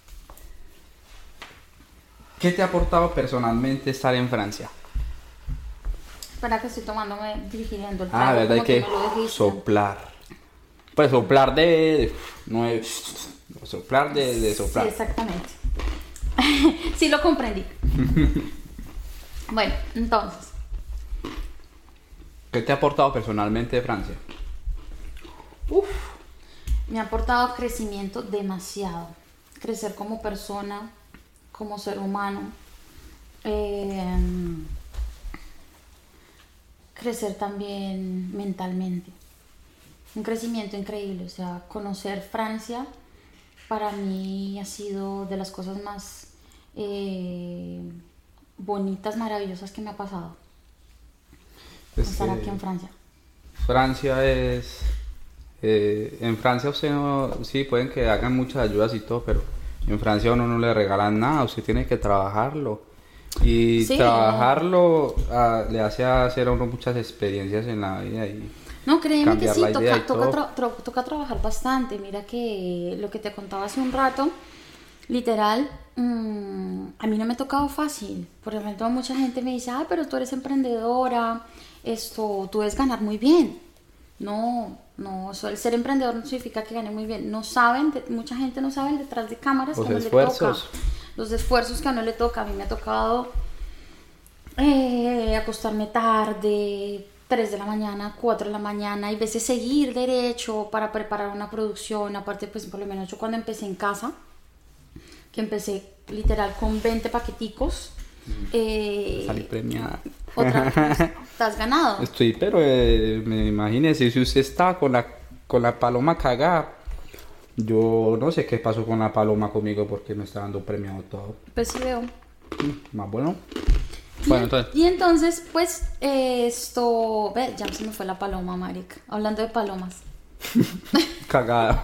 S1: ¿Qué te ha aportado personalmente estar en Francia?
S2: Espera que estoy tomándome, digiriendo el
S1: Ah,
S2: trago,
S1: verdad, hay
S2: como
S1: que
S2: me lo dijiste.
S1: soplar. Pues soplar no es... Soplar de soplar.
S2: Sí, exactamente. Sí, lo comprendí. Bueno, entonces,
S1: ¿Qué te ha aportado personalmente de Francia?
S2: me ha aportado crecimiento demasiado. Crecer como persona, como ser humano. Crecer también mentalmente. Un crecimiento increíble. O sea, conocer Francia para mí ha sido de las cosas más bonitas, maravillosas que me ha pasado. Estar aquí en Francia.
S1: Francia es... en Francia usted no... Sí, pueden que hagan muchas ayudas y todo, pero en Francia a uno no le regalan nada, usted tiene que trabajarlo. Y
S2: sí,
S1: trabajarlo le hace hacer a uno muchas experiencias en la vida y
S2: no, créeme que sí,
S1: toca
S2: toca trabajar bastante. Mira que lo que te contaba hace un rato, literal, a mí no me ha tocado fácil. Por ejemplo, mucha gente me dice, pero tú eres emprendedora, tú debes ganar muy bien. No, el ser emprendedor no significa que gane muy bien. No saben, mucha gente no sabe detrás de cámaras
S1: los
S2: que a uno
S1: esfuerzos.
S2: le toca. Los esfuerzos que a uno le toca. A mí me ha tocado acostarme tarde, 3 de la mañana, 4 de la mañana, y a veces seguir derecho para preparar una producción. Aparte, pues por lo menos yo cuando empecé en casa, que empecé literal con 20 paqueticos.
S1: Salí premiada.
S2: Te has ganado.
S1: Estoy, pero me imagínese, si usted está con la paloma cagada, yo no sé qué pasó con la paloma conmigo porque me está dando premiado todo.
S2: Pues sí veo.
S1: Más bueno. Bueno, entonces.
S2: Y entonces, pues, ve, ya se me fue la paloma, marica. Hablando de palomas.
S1: Cagada.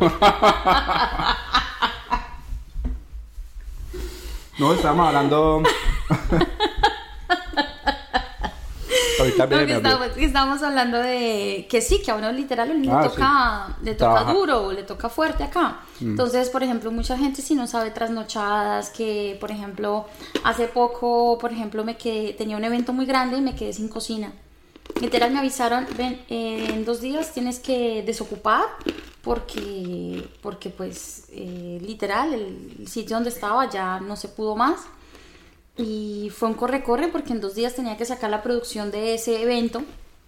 S1: No, estamos hablando. Ahorita
S2: estamos hablando de que sí, que a uno literal le toca duro, le toca fuerte acá. Entonces, por ejemplo, mucha gente si no sabe trasnochadas, que por ejemplo, hace poco, por ejemplo, tenía un evento muy grande y me quedé sin cocina. Literal me avisaron, ven, en 2 días tienes que desocupar porque pues literal el sitio donde estaba ya no se pudo más. Y fue un corre-corre porque en 2 días tenía que sacar la producción de ese evento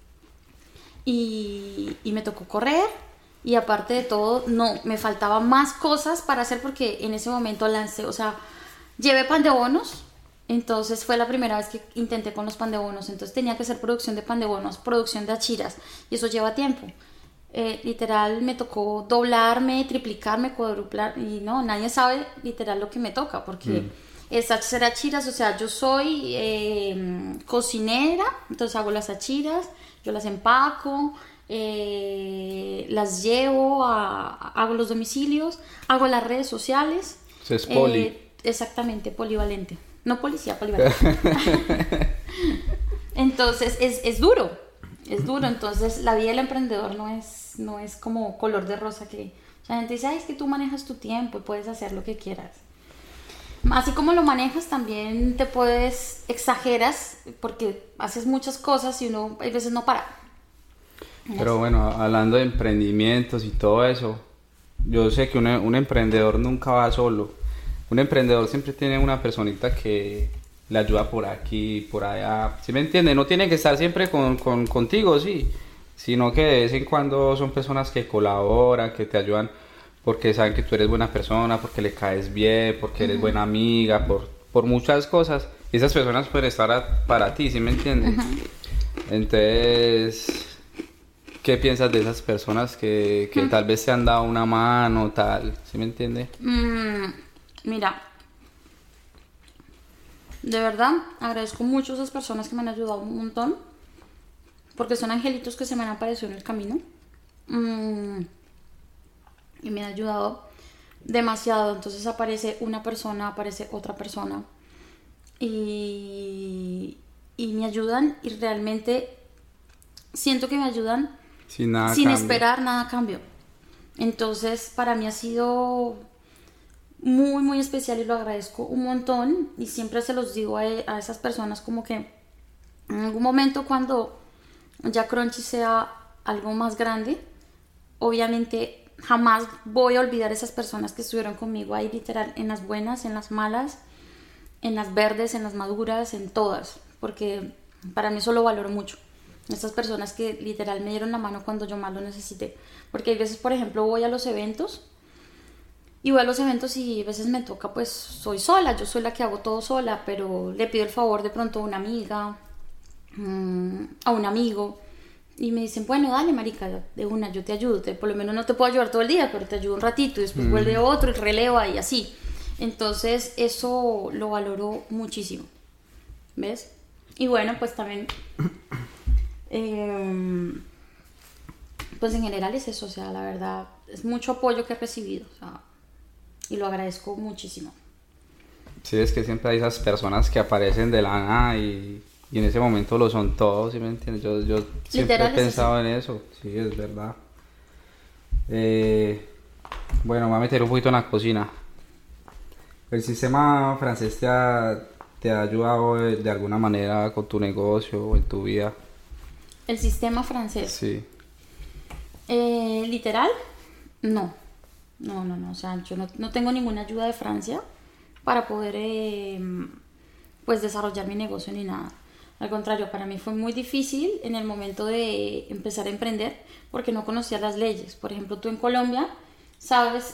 S2: y me tocó correr, y aparte de todo me faltaban más cosas para hacer porque en ese momento llevé pan de bonos. Entonces fue la primera vez que intenté con los pan de bonos, entonces tenía que hacer producción de pan de bonos, producción de achiras, y eso lleva tiempo. Literal me tocó doblarme, triplicarme, cuadruplar, y no, nadie sabe literal lo que me toca porque es hacer achiras. O sea, yo soy cocinera, entonces hago las achiras, yo las empaco, las llevo, hago los domicilios, hago las redes sociales.
S1: Es poli.
S2: Exactamente, polivalente. No policía, polivalente. Entonces es duro, entonces la vida del emprendedor no es como color de rosa, que la gente dice, es que tú manejas tu tiempo y puedes hacer lo que quieras. Así como lo manejas, también te puedes, exageras, porque haces muchas cosas y uno a veces no para.
S1: Pero bueno, hablando de emprendimientos y todo eso, yo sé que un emprendedor nunca va solo. Un emprendedor siempre tiene una personita que le ayuda por aquí, por allá. ¿Sí me entiende? No tiene que estar siempre contigo, sí. Sino que de vez en cuando son personas que colaboran, que te ayudan porque saben que tú eres buena persona, porque le caes bien, porque eres buena amiga, por muchas cosas. Y esas personas pueden estar para ti, ¿sí me entiendes? Entonces, ¿qué piensas de esas personas que tal vez te han dado una mano, tal? ¿Sí me entiende?
S2: Mira, de verdad agradezco mucho a esas personas que me han ayudado un montón, porque son angelitos que se me han aparecido en el camino. Y me han ayudado demasiado. Entonces aparece una persona, aparece otra persona y me ayudan, y realmente siento que me ayudan sin esperar nada a cambio. Entonces para mí ha sido muy muy especial y lo agradezco un montón, y siempre se los digo a esas personas, como que en algún momento, cuando ya Crunchy sea algo más grande, obviamente jamás voy a olvidar esas personas que estuvieron conmigo ahí, literal, en las buenas, en las malas, en las verdes, en las maduras, en todas, porque para mí eso lo valoro mucho. Estas personas que literal me dieron la mano cuando yo más lo necesité. Porque hay veces, por ejemplo, voy a los eventos y a veces me toca, pues soy sola, yo soy la que hago todo sola, pero le pido el favor de pronto a una amiga, a un amigo, y me dicen, bueno, dale marica, de una, yo te ayudo, por lo menos no te puedo ayudar todo el día, pero te ayudo un ratito, y después vuelve otro y relevo y así. Entonces eso lo valoro muchísimo, ¿ves? Y bueno, pues también pues en general es eso, o sea, la verdad es mucho apoyo que he recibido, o sea, y lo agradezco muchísimo.
S1: Sí, es que siempre hay esas personas que aparecen de la nada y en ese momento lo son todos, ¿sí me entiendes? Yo siempre he pensado en eso, sí, es verdad. Bueno, me voy a meter un poquito en la cocina. ¿El sistema francés te ha ayudado de alguna manera con tu negocio o en tu vida?
S2: ¿El sistema francés?
S1: Sí.
S2: ¿Literal? No, o sea, yo no tengo ninguna ayuda de Francia para poder pues desarrollar mi negocio ni nada. Al contrario, para mí fue muy difícil en el momento de empezar a emprender, porque no conocía las leyes. Por ejemplo, tú en Colombia sabes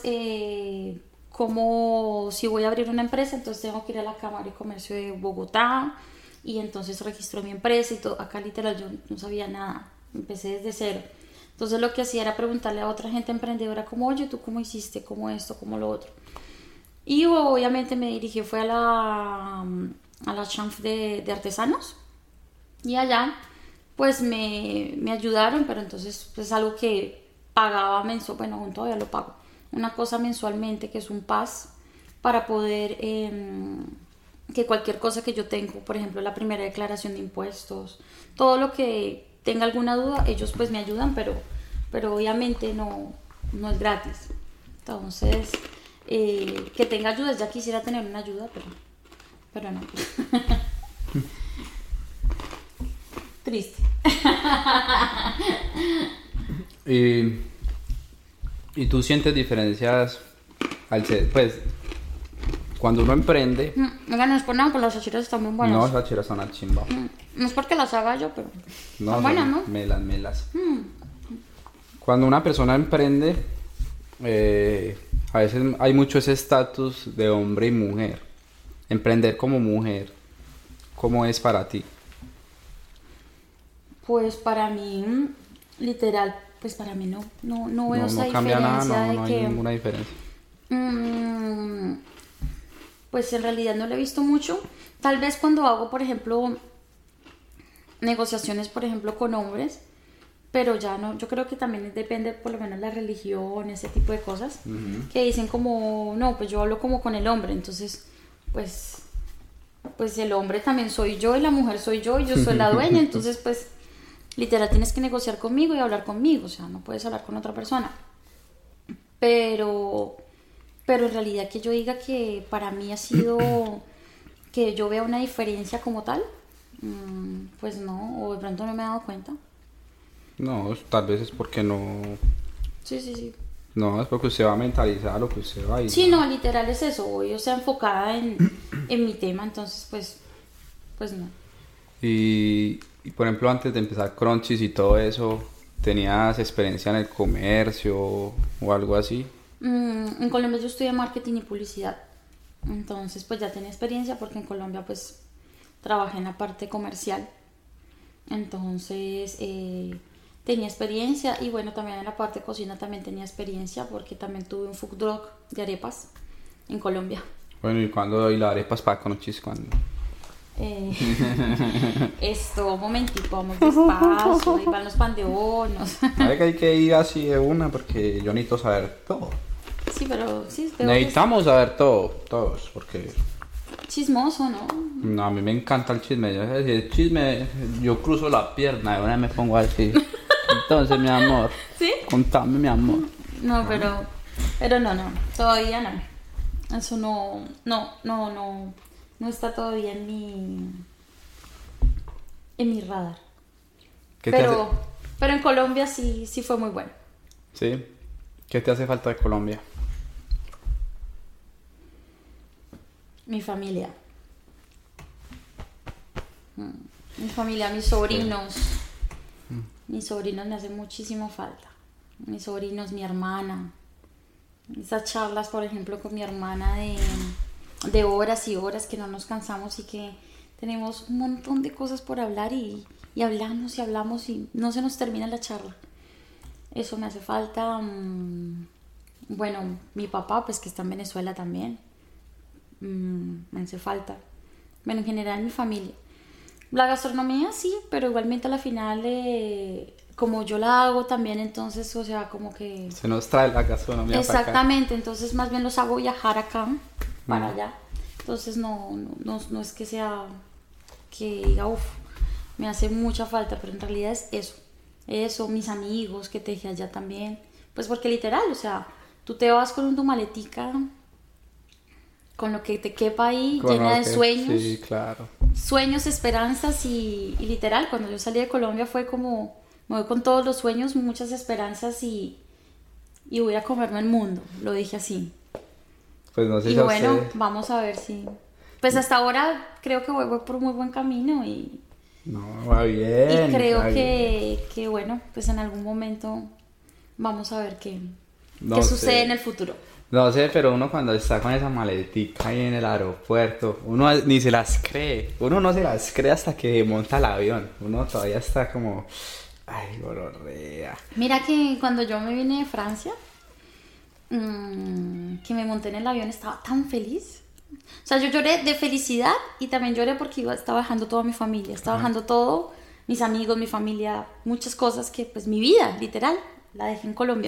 S2: cómo, si voy a abrir una empresa, entonces tengo que ir a la Cámara de Comercio de Bogotá y entonces registro mi empresa y todo. Acá literal yo no sabía nada, empecé desde cero. Entonces lo que hacía era preguntarle a otra gente emprendedora como, oye, ¿tú cómo hiciste? ¿Cómo esto? ¿Cómo lo otro? Y obviamente me dirigí, fue a la Chambre de Artesanos, y allá pues me ayudaron, pero entonces pues algo que pagaba mensual, bueno, aún todavía lo pago, una cosa mensualmente que es un PAS para poder que cualquier cosa que yo tengo, por ejemplo la primera declaración de impuestos, todo lo que tenga alguna duda, ellos pues me ayudan, pero obviamente no es gratis. Entonces que tenga ayudas, ya quisiera tener una ayuda, pero no. Triste.
S1: ¿Y tú sientes diferencias pues cuando uno emprende?
S2: Oiga, no es por nada, pero las achiras están muy buenas.
S1: No, las achiras son una chimba.
S2: No es porque las haga yo, pero
S1: no,
S2: son buenas, ¿no?
S1: Melas. Cuando una persona emprende, a veces hay mucho ese estatus de hombre y mujer. Emprender como mujer, ¿cómo es para ti?
S2: Pues para mí, literal, pues para mí no veo esa diferencia.
S1: No cambia nada, no
S2: que,
S1: hay ninguna diferencia.
S2: Pues en realidad no lo he visto mucho. Tal vez cuando hago, por ejemplo, negociaciones, por ejemplo, con hombres, pero ya no, yo creo que también depende por lo menos la religión, ese tipo de cosas, que dicen como, no, pues yo hablo como con el hombre, entonces, pues el hombre también soy yo y la mujer soy yo y yo soy la dueña, entonces pues literal tienes que negociar conmigo y hablar conmigo, o sea, no puedes hablar con otra persona. Pero pero en realidad que yo diga que para mí ha sido que yo vea una diferencia como tal, pues no, o de pronto no me he dado cuenta.
S1: No, tal vez es porque no...
S2: Sí.
S1: No, es porque usted va a mentalizar lo que usted va a ir.
S2: Sí, no, literal es eso, voy, o sea, enfocada en mi tema, entonces pues no.
S1: Y por ejemplo, antes de empezar Crunchies y todo eso, ¿tenías experiencia en el comercio o algo así?
S2: En Colombia yo estudié marketing y publicidad, entonces pues ya tenía experiencia porque en Colombia pues trabajé en la parte comercial, entonces tenía experiencia y bueno, también en la parte de cocina también tenía experiencia porque también tuve un food truck de arepas en Colombia.
S1: Bueno, ¿y cuándo doy las arepas para Crunchies? ¿Cuándo?
S2: Esto, un momentico, vamos despacio, ahí van los pan de hornos.
S1: Sabe que hay que ir así de una porque yo necesito saber todo.
S2: Sí, pero sí,
S1: Necesitamos saber todo, todos, porque...
S2: Chismoso, ¿no?
S1: No, a mí me encanta el chisme. El chisme, yo cruzo la pierna y una vez me pongo así. Entonces, mi amor,
S2: ¿Sí?
S1: contame, mi amor.
S2: No, pero no, todavía no. Eso no está todavía en mi radar.
S1: ¿Qué te hace?
S2: Pero en Colombia sí fue muy bueno.
S1: ¿Sí? ¿Qué te hace falta de Colombia?
S2: Mi familia. Mi familia, mis sobrinos. Mis sobrinos me hacen muchísimo falta. Mis sobrinos, mi hermana. Esas charlas, por ejemplo, con mi hermana de horas y horas que no nos cansamos y que tenemos un montón de cosas por hablar y hablamos y no se nos termina la charla. Eso me hace falta. Bueno, mi papá, pues que está en Venezuela también. Me hace falta. Bueno, en general mi familia. La gastronomía sí, pero igualmente a la final, como yo la hago también, entonces, o sea, como que...
S1: Se nos trae la gastronomía
S2: Exactamente, para acá. Entonces más bien los hago viajar acá, para allá. Entonces no es que sea, que diga, me hace mucha falta, pero en realidad es eso. Eso, mis amigos que te dejé allá también. Pues porque literal, o sea, tú te vas con tu maletica... con lo que te quepa ahí, llena de sueños.
S1: Sí, claro.
S2: Sueños, esperanzas y literal, cuando yo salí de Colombia fue como, me voy con todos los sueños, muchas esperanzas y voy a comerme el mundo, lo dije así.
S1: Pues no sé
S2: y
S1: si
S2: bueno,
S1: usted...
S2: vamos a ver si... Pues hasta ahora creo que voy por muy buen camino y...
S1: No, va bien.
S2: Y creo que bueno, pues en algún momento vamos a ver qué sucede en el futuro.
S1: No sé, pero uno cuando está con esa maletica ahí en el aeropuerto, uno ni se las cree. Uno no se las cree hasta que monta el avión. Uno todavía está como... Ay, gonorrea.
S2: Mira que cuando yo me vine de Francia, que me monté en el avión, estaba tan feliz. O sea, yo lloré de felicidad y también lloré porque estaba dejando toda mi familia. Estaba dejando todo, mis amigos, mi familia, muchas cosas que pues mi vida, literal, la dejé en Colombia.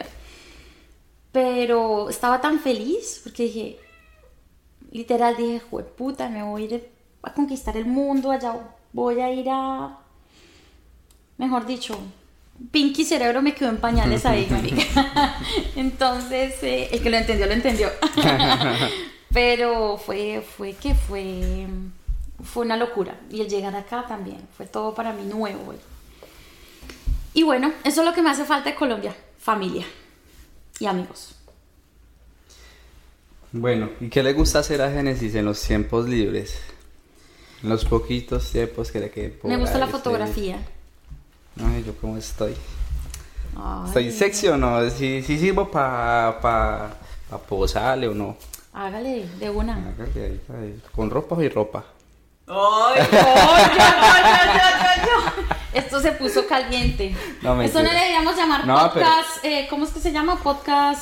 S2: Pero estaba tan feliz porque dije, literal dije, jueputa, me voy a ir a conquistar el mundo, allá voy a ir a, mejor dicho, Pinky Cerebro me quedó en pañales ahí, marica. Entonces, el que lo entendió. Pero fue una locura. Y el llegar acá también, fue todo para mí nuevo. Y bueno, eso es lo que me hace falta de Colombia, familia. Y amigos.
S1: Bueno, ¿y qué le gusta hacer a Génesis en los tiempos libres? En los poquitos tiempos que le queden por
S2: Me gusta
S1: ahí,
S2: la fotografía.
S1: Ay, ¿yo cómo estoy?
S2: Ay.
S1: ¿Estoy sexy o no? ¿Sí sirvo para posarle o no?
S2: Hágale, de una.
S1: Hágale ahí, con ropa y ropa.
S2: ¡Ay! Yo. Esto se puso caliente.
S1: No,
S2: esto no le deberíamos llamar podcast. Pero... ¿cómo es que se llama? Podcast.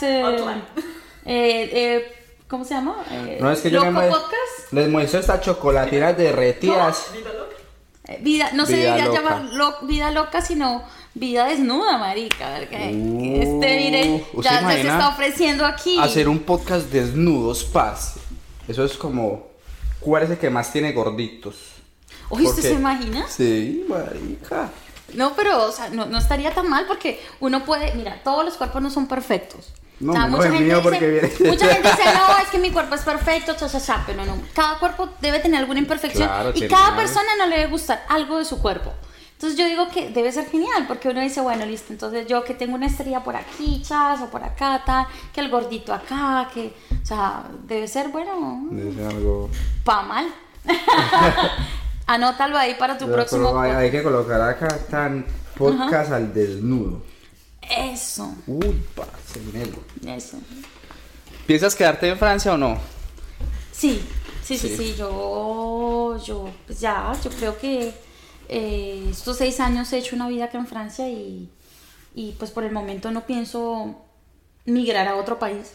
S2: ¿Cómo se llama?
S1: No, es que
S2: ¿Loco
S1: yo
S2: podcast?
S1: les muestro estas chocolatinas derretidas.
S2: Vida, no se
S1: Vida
S2: debería
S1: loca.
S2: llamar vida loca, sino vida desnuda, marica. Miren, ya se está ofreciendo aquí.
S1: Hacer un podcast desnudos, parce. Eso es como... ¿Cuál es el que más tiene gorditos?
S2: Oye, ¿usted se imagina?
S1: Sí, marica.
S2: No, pero, o sea, no estaría tan mal porque uno puede... Mira, todos los cuerpos no son perfectos.
S1: No,
S2: O sea,
S1: menos el mío porque viene.
S2: mucha gente dice, no, es que mi cuerpo es perfecto, pero no. Cada cuerpo debe tener alguna imperfección
S1: Claro,
S2: y
S1: tiene
S2: cada
S1: algo.
S2: persona no le debe gustar algo de su cuerpo. Entonces yo digo que debe ser genial, porque uno dice, bueno, listo, entonces yo que tengo una estrella por aquí, chas, o por acá, tal, que el gordito acá, o sea, debe ser, bueno,
S1: Es algo...
S2: pa' mal. Anótalo ahí para tu
S1: Pero
S2: próximo
S1: hay que colocar acá tan podcast al desnudo.
S2: Eso,
S1: Uy, parce, negro.
S2: eso.
S1: ¿Piensas quedarte en Francia o no?
S2: Sí,
S1: Sí.
S2: yo, pues ya, yo creo que estos 6 años he hecho una vida acá en Francia y pues por el momento no pienso migrar a otro país.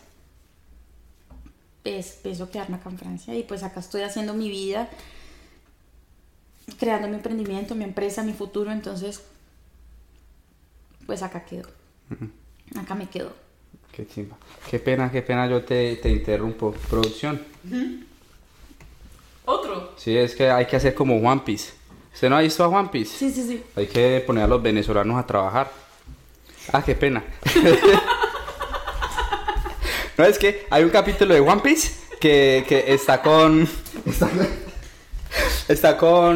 S2: Pienso quedarme acá en Francia y pues acá estoy haciendo mi vida, creando mi emprendimiento, mi empresa, mi futuro, entonces pues acá quedo. Acá me quedo.
S1: Qué chimba. Qué pena, yo te interrumpo. Producción.
S3: Otro.
S1: Sí, es que hay que hacer como One Piece. ¿Usted no ha visto a One Piece?
S2: Sí.
S1: Hay que poner a los venezolanos a trabajar. Ah, qué pena. No, es que hay un capítulo de One Piece que está con... Está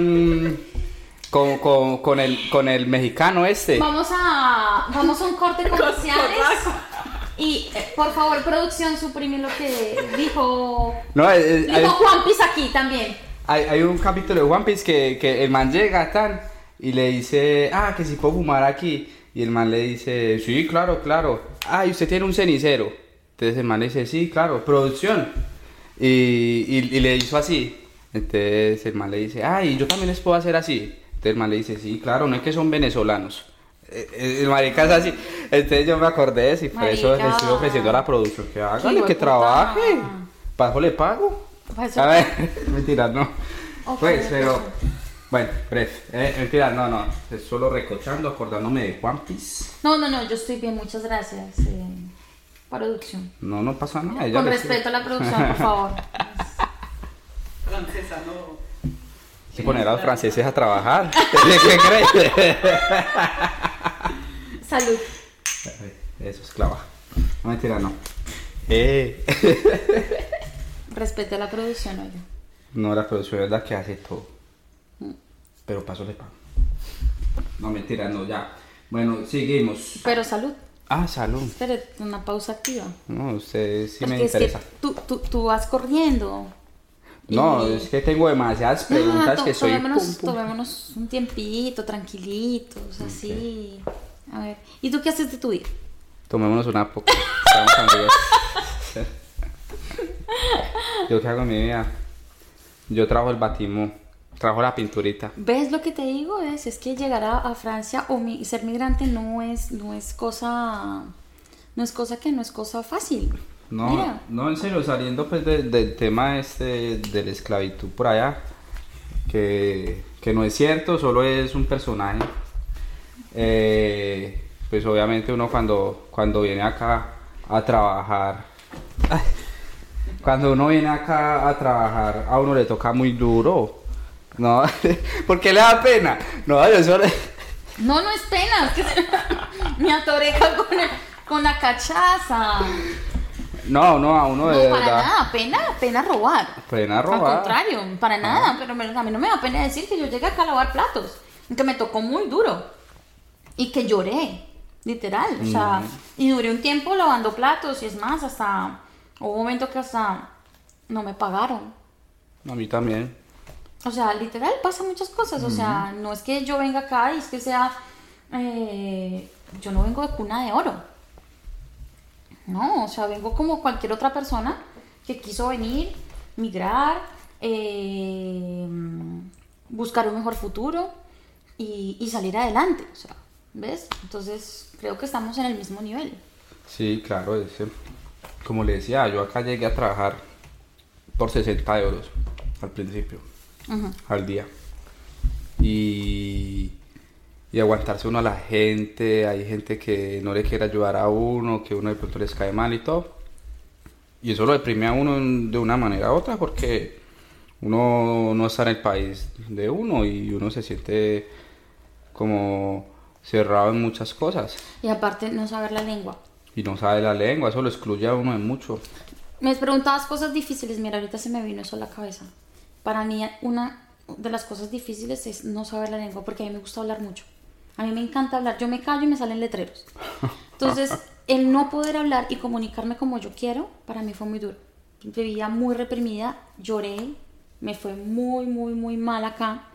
S1: con el mexicano este.
S2: Vamos a un corte comerciales. Y por favor, producción, suprime lo que dijo.
S1: No,
S2: Dijo Juan Piz aquí también.
S1: hay un capítulo de One Piece que el man llega tan y le dice, que si puedo fumar aquí. Y el man le dice, sí, claro. Y usted tiene un cenicero. Entonces el man le dice, sí, claro, producción. Y le hizo así. Entonces el man le dice, y yo también les puedo hacer así. Entonces el man le dice, sí, claro, no es que son venezolanos. El marica es así. Entonces yo me acordé de eso y por eso le estoy ofreciendo a la producción que hágale,
S2: hijo
S1: que
S2: de puta.
S1: trabaje. ¿Para eso le pago?
S2: Pues,
S1: A ver, mentira, no.
S2: Ok,
S1: Pues,
S2: ok.
S1: pero... Bueno, mentira, no. Es solo recochando, acordándome de One Piece.
S2: No, yo estoy bien, muchas gracias. Producción.
S1: No pasa nada. ella
S2: Con
S1: le-
S2: respeto a la producción, por favor.
S3: Francesa, no.
S1: Hay que poner a los franceses a trabajar. ¿Qué crees?
S2: Salud.
S1: Eso es clava. No, mentira, no.
S2: Respete a la producción, oiga.
S1: No, la producción es la que hace todo. Pero paso le pago. No, mentira, no, ya. Bueno, seguimos.
S2: Pero salud.
S1: Salud.
S2: Espere, una pausa activa.
S1: No, usted sí me
S2: Porque es
S1: interesa.
S2: que tú vas corriendo.
S1: No,
S2: Y-
S1: es que tengo demasiadas preguntas que soy...
S2: Tomémonos un tiempito, tranquilitos, así. A ver, ¿y tú qué haces de tu vida?
S1: Tomémonos una poca. Estamos amigos. ¿Yo qué hago en mi vida? Yo trabajo el batimó. Trabajo la pinturita.
S2: ¿Ves lo que te digo? Es que llegar a Francia o ser migrante no es cosa fácil.
S1: No,
S2: Mira.
S1: no, en serio, saliendo pues del tema de la esclavitud por allá, que no es cierto, solo es un personaje. Pues obviamente uno cuando viene acá a trabajar, cuando uno viene acá a trabajar, a uno le toca muy duro. No, ¿por qué le da pena? No, yo solo...
S2: No es pena, es que me atoré con la cachaza.
S1: No, a uno de
S2: No, para
S1: verdad.
S2: nada, pena robar.
S1: Pena
S2: Al
S1: robar.
S2: contrario, para nada, pero a mí no me da pena decir que yo llegué acá a lavar platos, que me tocó muy duro y que lloré, literal, o sea, y duré un tiempo lavando platos y es más, hasta hubo un momento que hasta no me pagaron.
S1: A mí también.
S2: O sea, literal pasa muchas cosas, o sea, no es que yo venga acá y es que sea, yo no vengo de cuna de oro. No, o sea, vengo como cualquier otra persona que quiso venir, migrar, buscar un mejor futuro y salir adelante, o sea, ¿ves? Entonces, creo que estamos en el mismo nivel.
S1: Sí, claro, como le decía, yo acá llegué a trabajar por 60 euros al principio, al día. Y aguantarse uno a la gente, hay gente que no le quiere ayudar a uno, que uno de pronto les cae mal y todo. Y eso lo deprime a uno de una manera u otra porque uno no está en el país de uno y uno se siente como cerrado en muchas cosas.
S2: Y aparte, no saber la lengua.
S1: Y no sabe la lengua, eso lo excluye a uno de mucho.
S2: Me preguntabas cosas difíciles, mira, ahorita se me vino eso a la cabeza. Para mí una de las cosas difíciles es no saber la lengua, porque a mí me gusta hablar mucho. A mí me encanta hablar, yo me callo y me salen letreros. Entonces, el no poder hablar y comunicarme como yo quiero, para mí fue muy duro. Vivía muy reprimida, lloré, me fue muy, muy, muy mal acá.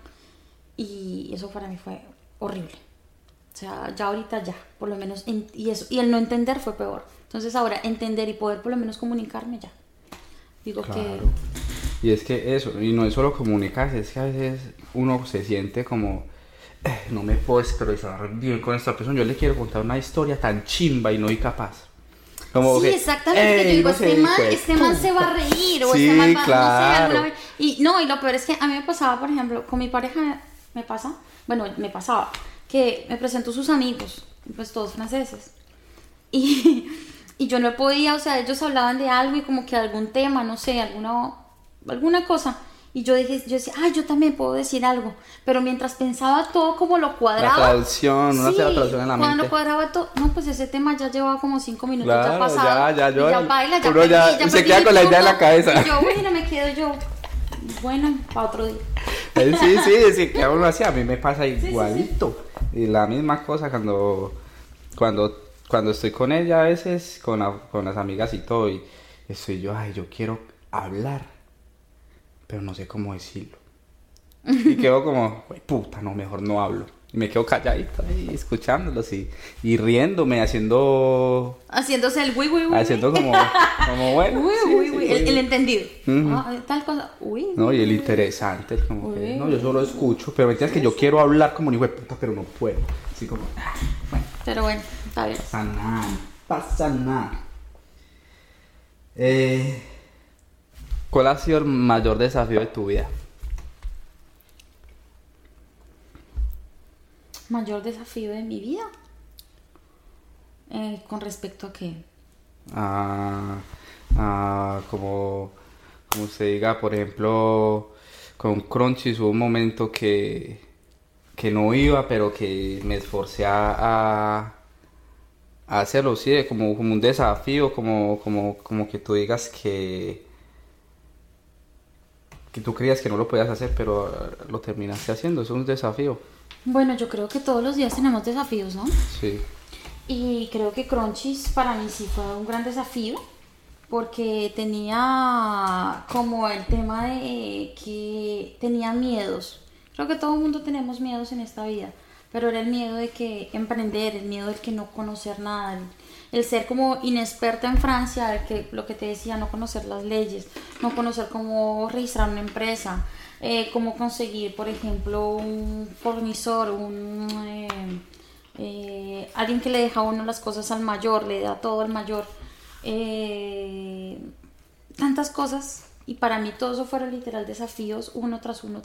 S2: Y eso para mí fue horrible. O sea, ya ahorita ya, por lo menos, y el no entender fue peor. Entonces ahora entender y poder por lo menos comunicarme ya. Digo
S1: Claro.
S2: que...
S1: Y es que eso, y no es solo comunicarse, es que a veces uno se siente como, no me puedo expresar bien con esta persona, yo le quiero contar una historia tan chimba y no soy capaz. Como
S2: sí,
S1: que,
S2: exactamente, yo digo,
S1: no sé,
S2: este man se va a reír, o
S1: sí,
S2: este man va,
S1: claro.
S2: no sé, alguna vez. Y no, y lo peor es que a mí me pasaba, por ejemplo, con mi pareja me pasaba, que me presentó sus amigos, pues todos franceses. Y, y yo no podía, o sea, ellos hablaban de algo y como que algún tema, no sé, alguna cosa. Y yo decía, yo también puedo decir algo. Pero mientras pensaba todo como lo cuadraba.
S1: La traducción, uno
S2: sí,
S1: hace la traducción en la
S2: cuando
S1: mente.
S2: cuadraba todo, no, pues ese tema ya llevaba como 5 minutos
S1: Claro,
S2: ya pasado.
S1: ya
S2: baila, ya
S1: uno
S2: perdí,
S1: ya
S2: ya
S1: se
S2: perdí
S1: queda
S2: mi
S1: con la idea en
S2: punto.
S1: la cabeza.
S2: Y yo, bueno, me quedo yo. Bueno, para otro día.
S1: Sí, que uno así, a mí me pasa igualito. Y la misma cosa cuando estoy con ella a veces, con las amigas y todo, y estoy yo, yo quiero hablar, pero no sé cómo decirlo. Y quedo como, puta, no, mejor no hablo. Y me quedo calladito ahí, escuchándolos y riéndome,
S2: Haciéndose el uy.
S1: haciendo como bueno.
S2: Uy, el entendido.
S1: Ujú.
S2: Tal cosa, uy.
S1: No, y el interesante, es como que,
S2: Uy.
S1: no, yo solo escucho, pero me entiendes que yo quiero hablar como un hijo de puta, pero no puedo. Así como, bueno,
S2: Pero bueno, está bien.
S1: pasa nada. ¿Cuál ha sido el mayor desafío de tu vida?
S2: Mayor desafío de mi vida. ¿Con respecto a qué?
S1: Como usted diga, por ejemplo, con Crunchies hubo un momento que no iba, pero que me esforcé a hacerlo, sí, como un desafío, como que tú digas que tú creías que no lo podías hacer, pero lo terminaste haciendo, eso es un desafío.
S2: Bueno, yo creo que todos los días tenemos desafíos, ¿no?
S1: Sí.
S2: Y creo que Crunchies para mí sí fue un gran desafío porque tenía como el tema de que tenía miedos. Creo que todo el mundo tenemos miedos en esta vida, pero era el miedo de que emprender, el miedo de que no conocer nada, el ser como inexperta en Francia, lo que te decía, no conocer las leyes, no conocer cómo registrar una empresa, cómo conseguir, por ejemplo, un fornidor, alguien que le deja a uno las cosas al mayor, le da todo al mayor, tantas cosas, y para mí todo eso fueron literal desafíos, uno tras uno.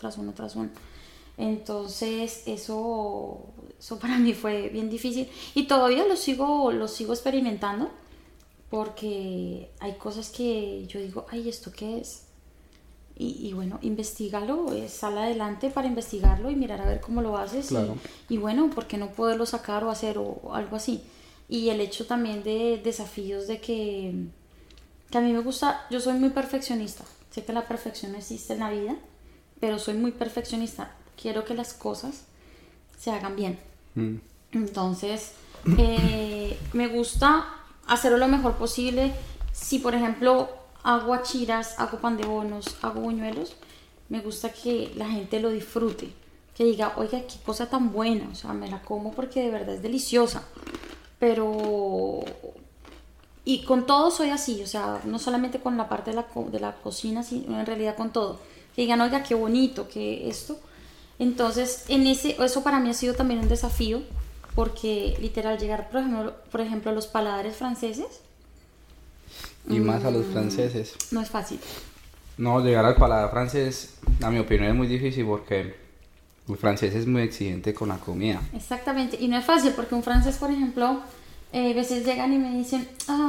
S2: Entonces eso para mí fue bien difícil y todavía lo sigo experimentando porque hay cosas que yo digo, ¿esto qué es? Y bueno, investígalo, sal adelante para investigarlo y mirar a ver cómo lo haces.
S1: Claro.
S2: Y bueno, ¿por qué no poderlo sacar o hacer o algo así? Y el hecho también de desafíos de que a mí me gusta, yo soy muy perfeccionista. Sé que la perfección existe en la vida, pero soy muy perfeccionista. Quiero que las cosas se hagan bien. Entonces, me gusta hacerlo lo mejor posible. Si, por ejemplo, hago achiras, hago pan de bonos, hago buñuelos, me gusta que la gente lo disfrute. Que diga, oiga, qué cosa tan buena. O sea, me la como porque de verdad es deliciosa. Pero... Y con todo soy así, o sea, no solamente con la parte de la cocina, sino en realidad con todo. Que digan, oiga, qué bonito, que esto. Entonces, eso para mí ha sido también un desafío, porque literal llegar, por ejemplo, a los paladares franceses.
S1: Y más a los franceses.
S2: No es fácil.
S1: No, llegar al paladar francés, a mi opinión, es muy difícil porque el francés es muy exigente con la comida.
S2: Exactamente, y no es fácil porque un francés, por ejemplo, a veces llegan y me dicen,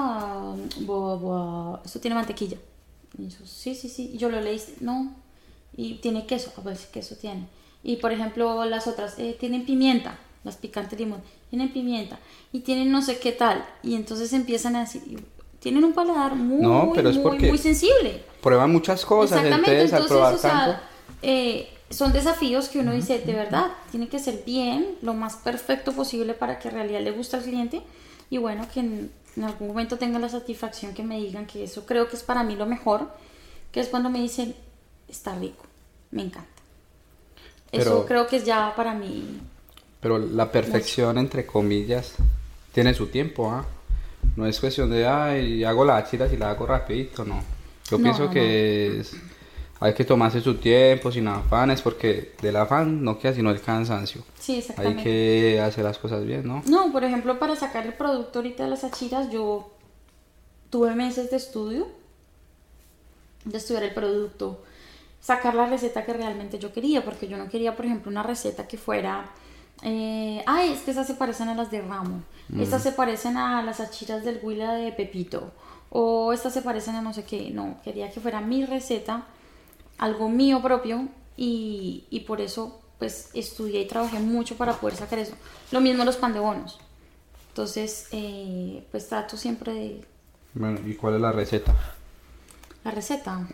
S2: esto tiene mantequilla. Y yo, sí, y yo lo leí, no, y tiene queso, a ver si queso tiene. Y por ejemplo, las otras, tienen pimienta. las picantes limón, tienen pimienta y tienen no sé qué tal. Y entonces empiezan a decir, tienen un paladar muy,
S1: No, pero es
S2: muy,
S1: porque
S2: muy sensible.
S1: prueban muchas cosas,
S2: Exactamente,
S1: entonces al probar
S2: o sea,
S1: tanto...
S2: son desafíos que uno dice, de verdad, tiene que ser bien, lo más perfecto posible para que en realidad le guste al cliente y bueno, que en algún momento tenga la satisfacción que me digan que eso creo que es para mí lo mejor, que es cuando me dicen, está rico, me encanta. Eso
S1: Pero,
S2: creo que es ya para mí
S1: pero la perfección,
S2: mucho.
S1: entre comillas, tiene su tiempo, ¿ah? No es cuestión de, ay, hago la chila si la hago rapidito, no. Yo
S2: No,
S1: pienso
S2: no, no.
S1: que hay que tomarse su tiempo, sin afanes, porque del afán no queda sino el cansancio.
S2: Sí,
S1: Hay
S2: exactamente.
S1: que hacer las cosas bien, ¿no?
S2: No, por ejemplo, para sacar el producto ahorita de las achiras, yo tuve meses de estudio, de estudiar el producto, sacar la receta que realmente yo quería, porque yo no quería, por ejemplo, una receta que fuera, ay, es que esas se parecen a las de Ramo, estas se parecen a las achiras del Huila de Pepito, o estas se parecen a no sé qué, no, quería que fuera mi receta, algo mío propio, y por eso, pues, estudié y trabajé mucho para poder sacar eso. Lo mismo los pan de bonos. Entonces, pues trato siempre de
S1: Bueno, ¿y cuál es la receta?
S2: la receta.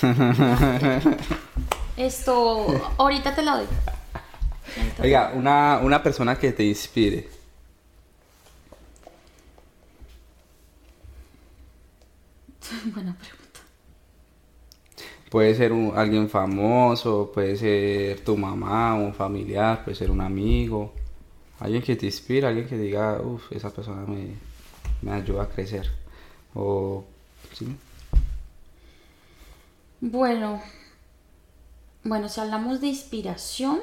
S2: Esto, ahorita te la doy. Ahorita te la
S1: Oiga,
S2: doy.
S1: una persona que te inspire.
S2: Buena pregunta.
S1: Puede ser alguien famoso, puede ser tu mamá, un familiar, puede ser un amigo. Alguien que te inspira, alguien que diga, uff, esa persona me ayuda a crecer. O, sí.
S2: Bueno, bueno, si hablamos de inspiración,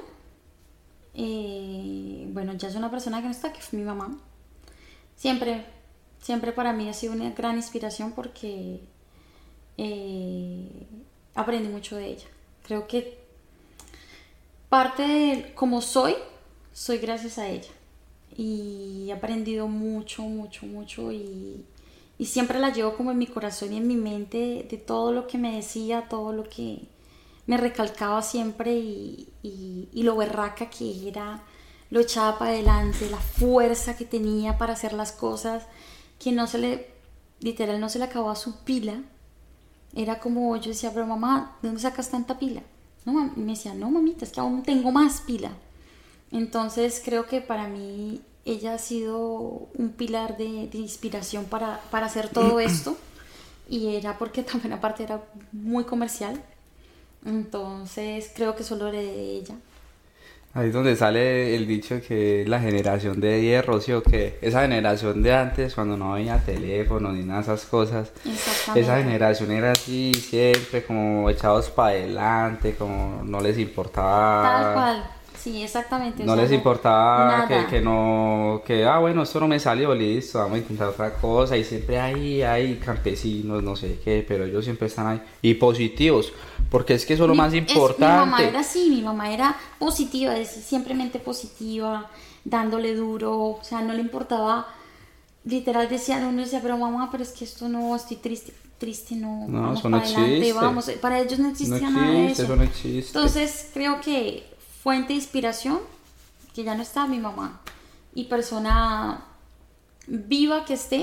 S2: bueno, ya es una persona que no está, que fue mi mamá. Siempre, siempre para mí ha sido una gran inspiración porque eh, aprendí mucho de ella. Creo que parte de como soy gracias a ella. Y he aprendido mucho, mucho, mucho y siempre la llevo como en mi corazón y en mi mente de todo lo que me decía, todo lo que me recalcaba siempre y lo berraca que era, lo echaba para adelante, la fuerza que tenía para hacer las cosas, que no se le, literal, no se le acababa su pila. Era como, yo decía, pero mamá, ¿de dónde sacas tanta pila? No, y me decía, no, mamita, es que aún tengo más pila. Entonces creo que para mí ella ha sido un pilar de inspiración para hacer todo esto. Y era porque también aparte era muy comercial. Entonces creo que solo heredé de ella.
S1: Ahí es donde sale el dicho que la generación de hierro, ¿sí o qué? Esa generación de antes, cuando no había teléfono ni nada de esas cosas, esa
S2: Exactamente.
S1: generación era así, siempre como echados para adelante, como no les
S2: Tal
S1: importaba.
S2: cual. Sí, exactamente. O
S1: No
S2: sea,
S1: les
S2: no,
S1: importaba que
S2: nada.
S1: no, que, bueno, esto no me salió, listo, vamos a intentar otra cosa. Y siempre hay campesinos, no sé qué, pero ellos siempre están ahí. Y positivos, porque es que eso es lo más
S2: Mi mamá
S1: importante.
S2: era así, mi mamá era positiva, simplemente positiva, dándole duro, o sea, no le importaba, literal decía, uno decía, pero mamá, pero es que esto no, estoy triste, triste no,
S1: No,
S2: vamos
S1: eso no
S2: para adelante,
S1: existe.
S2: vamos, para ellos no
S1: No
S2: existía nada de
S1: existe,
S2: eso.
S1: eso no existe.
S2: Entonces, creo que fuente de inspiración, que ya no está mi mamá, y persona viva que esté,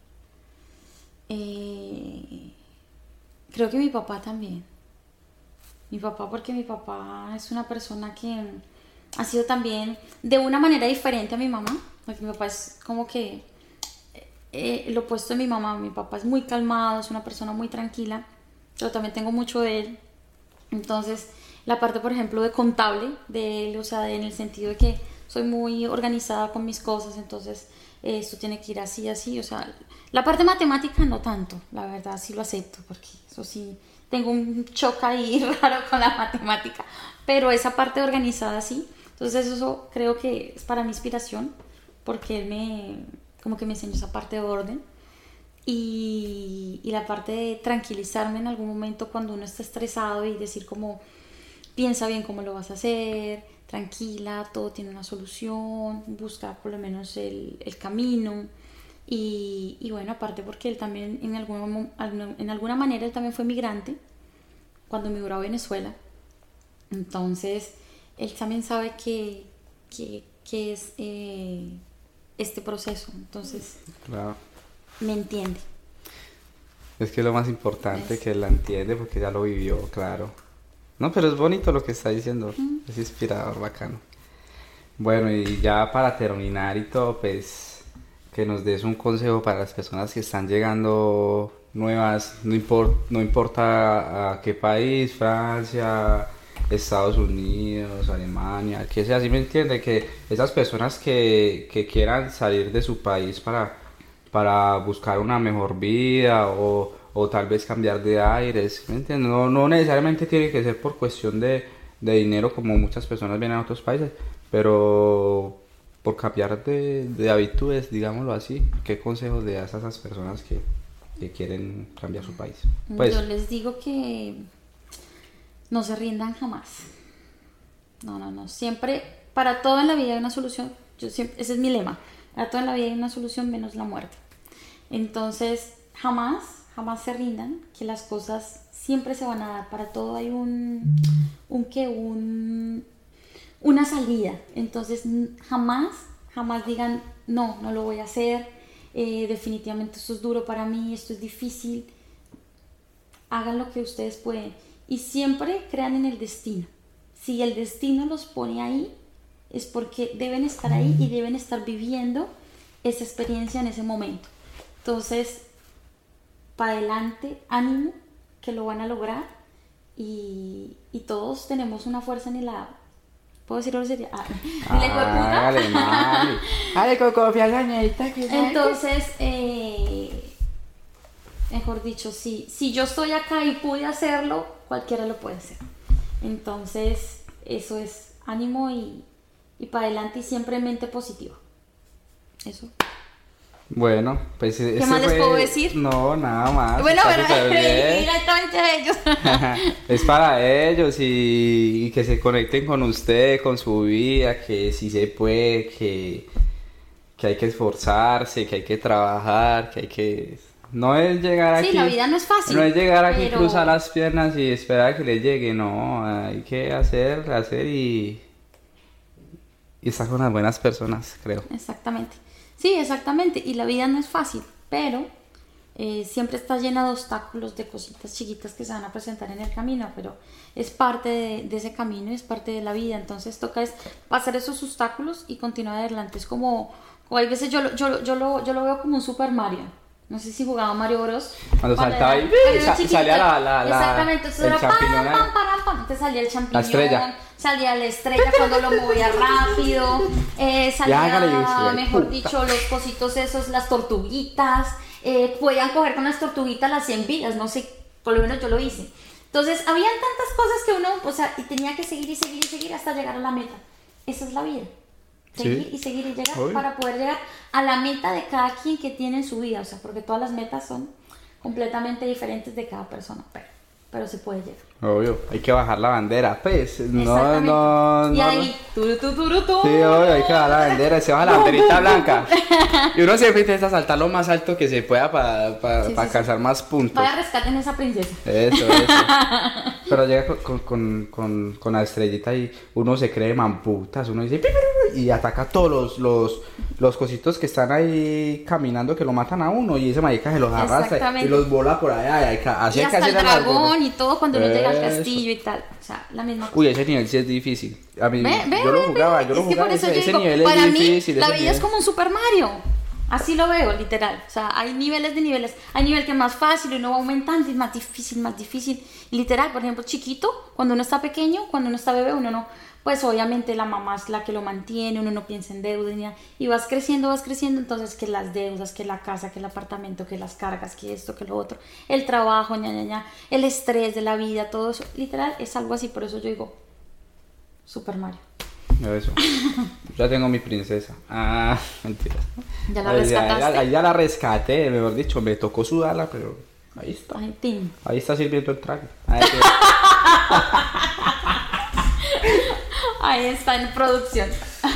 S2: eh, creo que mi papá también. Mi papá, porque mi papá es una persona que ha sido también de una manera diferente a mi mamá, porque mi papá es como que lo opuesto de mi mamá. Mi papá es muy calmado, es una persona muy tranquila, pero también tengo mucho de él. Entonces, la parte, por ejemplo, de contable de él, o sea, en el sentido de que soy muy organizada con mis cosas, entonces esto tiene que ir así, así, o sea, la parte matemática no tanto, la verdad sí lo acepto, porque eso sí, tengo un choque ahí raro con la matemática, pero esa parte organizada sí, entonces eso creo que es para mi inspiración, porque él me, como que me enseñó esa parte de orden y la parte de tranquilizarme en algún momento cuando uno está estresado y decir como piensa bien cómo lo vas a hacer, tranquila, todo tiene una solución, busca por lo menos el camino. Y bueno, aparte porque él también en alguna manera él también fue migrante cuando migró a Venezuela. Entonces, él también sabe que qué es este proceso. Entonces,
S1: Claro.
S2: me entiende.
S1: Es que es lo más importante,
S2: Es-
S1: que la entiende porque ya lo vivió, claro. No, pero es bonito lo que está diciendo. Es inspirador, bacano. Bueno, y ya para terminar y todo, pues que nos des un consejo para las personas que están llegando nuevas, no importa a qué país, Francia, Estados Unidos, Alemania, que sea, así me entiende, que esas personas que quieran salir de su país para buscar una mejor vida o tal vez cambiar de aires, ¿me entiendes? No, no necesariamente tiene que ser por cuestión de dinero como muchas personas vienen a otros países, pero por cambiar de habitudes, digámoslo así. ¿Qué consejos le das a esas personas que quieren cambiar su país? Pues,
S2: Yo les digo que no se rindan jamás. No, no, no. Siempre, para todo en la vida hay una solución. Yo siempre, ese es mi lema. Para todo en la vida hay una solución menos la muerte. Entonces, jamás, jamás se rindan, que las cosas siempre se van a dar. Para todo hay una salida. Entonces, jamás, jamás digan, no, no lo voy a hacer. Definitivamente esto es duro para mí, esto es difícil. Hagan lo que ustedes pueden y siempre crean en el destino. Si el destino los pone ahí, es porque deben estar ahí y deben estar viviendo esa experiencia en ese momento. Entonces, para adelante, ánimo, que lo van a lograr y todos tenemos una fuerza en el lado. ¿Puedo decir grosería? ¿En la hijueputa?
S1: hágale, mami. Hágale con confianza, ñerita, que sabe.
S2: Entonces, mejor dicho, si yo estoy acá y pude hacerlo, cualquiera lo puede hacer. Entonces, eso es ánimo y para adelante y siempre mente positiva. Eso.
S1: Bueno, pues
S2: ¿Qué más les puedo decir?
S1: No, nada más.
S2: Bueno,
S1: está
S2: pero
S1: súper bien.
S2: directamente a ellos.
S1: Es para ellos y que se conecten con usted, con su vida, que sí se puede, que hay que esforzarse, que hay que trabajar, que hay que... No es llegar aquí...
S2: Sí, la vida no es fácil.
S1: No es llegar aquí,
S2: pero...
S1: cruzar las piernas y esperar a que le llegue, no. Hay que hacer y estar con las buenas personas, creo.
S2: Exactamente. Sí, exactamente. Y la vida no es fácil, pero siempre está llena de obstáculos, de cositas chiquitas que se van a presentar en el camino, pero es parte de ese camino, es parte de la vida. Entonces toca es pasar esos obstáculos y continuar adelante. Es como hay veces yo lo veo como un Super Mario. No sé si jugaba Mario Bros.
S1: Cuando saltaba ahí, salía
S2: exactamente, entonces
S1: el
S2: era
S1: champiñón ahí.
S2: entonces salía el champiñón,
S1: La estrella.
S2: salía la estrella cuando lo movía rápido,
S1: hágale,
S2: salía,
S1: y
S2: mejor
S1: puta.
S2: dicho, los cositos esos, las tortuguitas, podían coger con las tortuguitas las 100 vidas, no sé, por lo menos yo lo hice. Entonces, habían tantas cosas que uno, o sea, y tenía que seguir y seguir y seguir hasta llegar a la meta. Esa es la vida. Seguir
S1: Sí.
S2: y seguir y llegar
S1: Obvio.
S2: para poder llegar a la meta de cada quien que tiene en su vida, o sea, porque todas las metas son completamente diferentes de cada persona, pero se puede llegar.
S1: Obvio, hay que bajar la bandera, pues. No,
S2: Exactamente.
S1: no,
S2: Y
S1: no.
S2: ahí, turu.
S1: Sí, obvio, hay que bajar la bandera, se baja la banderita blanca. Y uno siempre intenta saltar lo más alto que se pueda para
S2: Sí, sí,
S1: alcanzar más puntos.
S2: Vaya, rescaten a esa princesa.
S1: Eso. Pero llega con la estrellita y uno se cree mamputas, uno dice "Pi, pi, pi", y ataca a todos los cositos que están ahí caminando que lo matan a uno y ese marica se los arrastra
S2: Exactamente.
S1: y los bola por allá. Así
S2: Y
S1: hay que
S2: hasta el
S1: hacer a las
S2: dragón
S1: bolas.
S2: y todo cuando uno llega al
S1: Eso.
S2: castillo y tal. O sea, la misma cosa.
S1: Uy, ese nivel sí es difícil. A mí,
S2: Ve,
S1: yo lo jugaba,
S2: es que por eso yo
S1: ese
S2: digo,
S1: nivel
S2: para
S1: es
S2: mí
S1: difícil.
S2: la
S1: ese
S2: vida
S1: nivel.
S2: es como un Super Mario. Así lo veo, literal. O sea, hay niveles de niveles. Hay nivel que es más fácil y uno va aumentando y es más difícil, más difícil. Literal, por ejemplo, chiquito, cuando uno está pequeño, cuando uno está bebé, uno no... Pues obviamente la mamá es la que lo mantiene, uno no piensa en deudas ni nada. Y vas creciendo, entonces que las deudas, que la casa, que el apartamento, que las cargas, que esto, que lo otro. El trabajo, el estrés de la vida, todo eso. Literal, es algo así, por eso yo digo Super Mario.
S1: Eso. Ya tengo mi princesa. Ah, mentira.
S2: ¿Ya la rescataste?
S1: Ahí ya la rescaté, mejor dicho, me tocó sudarla, pero ahí está.
S2: Ay, Tim.
S1: Ahí está sirviendo el trago. Ahí
S2: Ahí está en producción.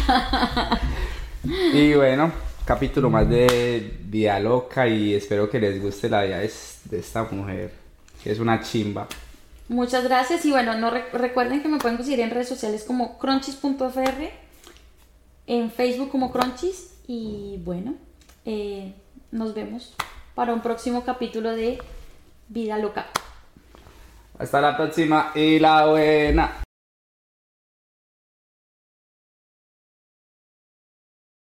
S1: y bueno, capítulo más de Vida Loca y espero que les guste la vida de esta mujer, que es una chimba.
S2: Muchas gracias y bueno, no recuerden que me pueden conseguir en redes sociales como crunchies.fr en Facebook como Crunchies. Y bueno, nos vemos para un próximo capítulo de Vida Loca.
S1: Hasta la próxima y la buena.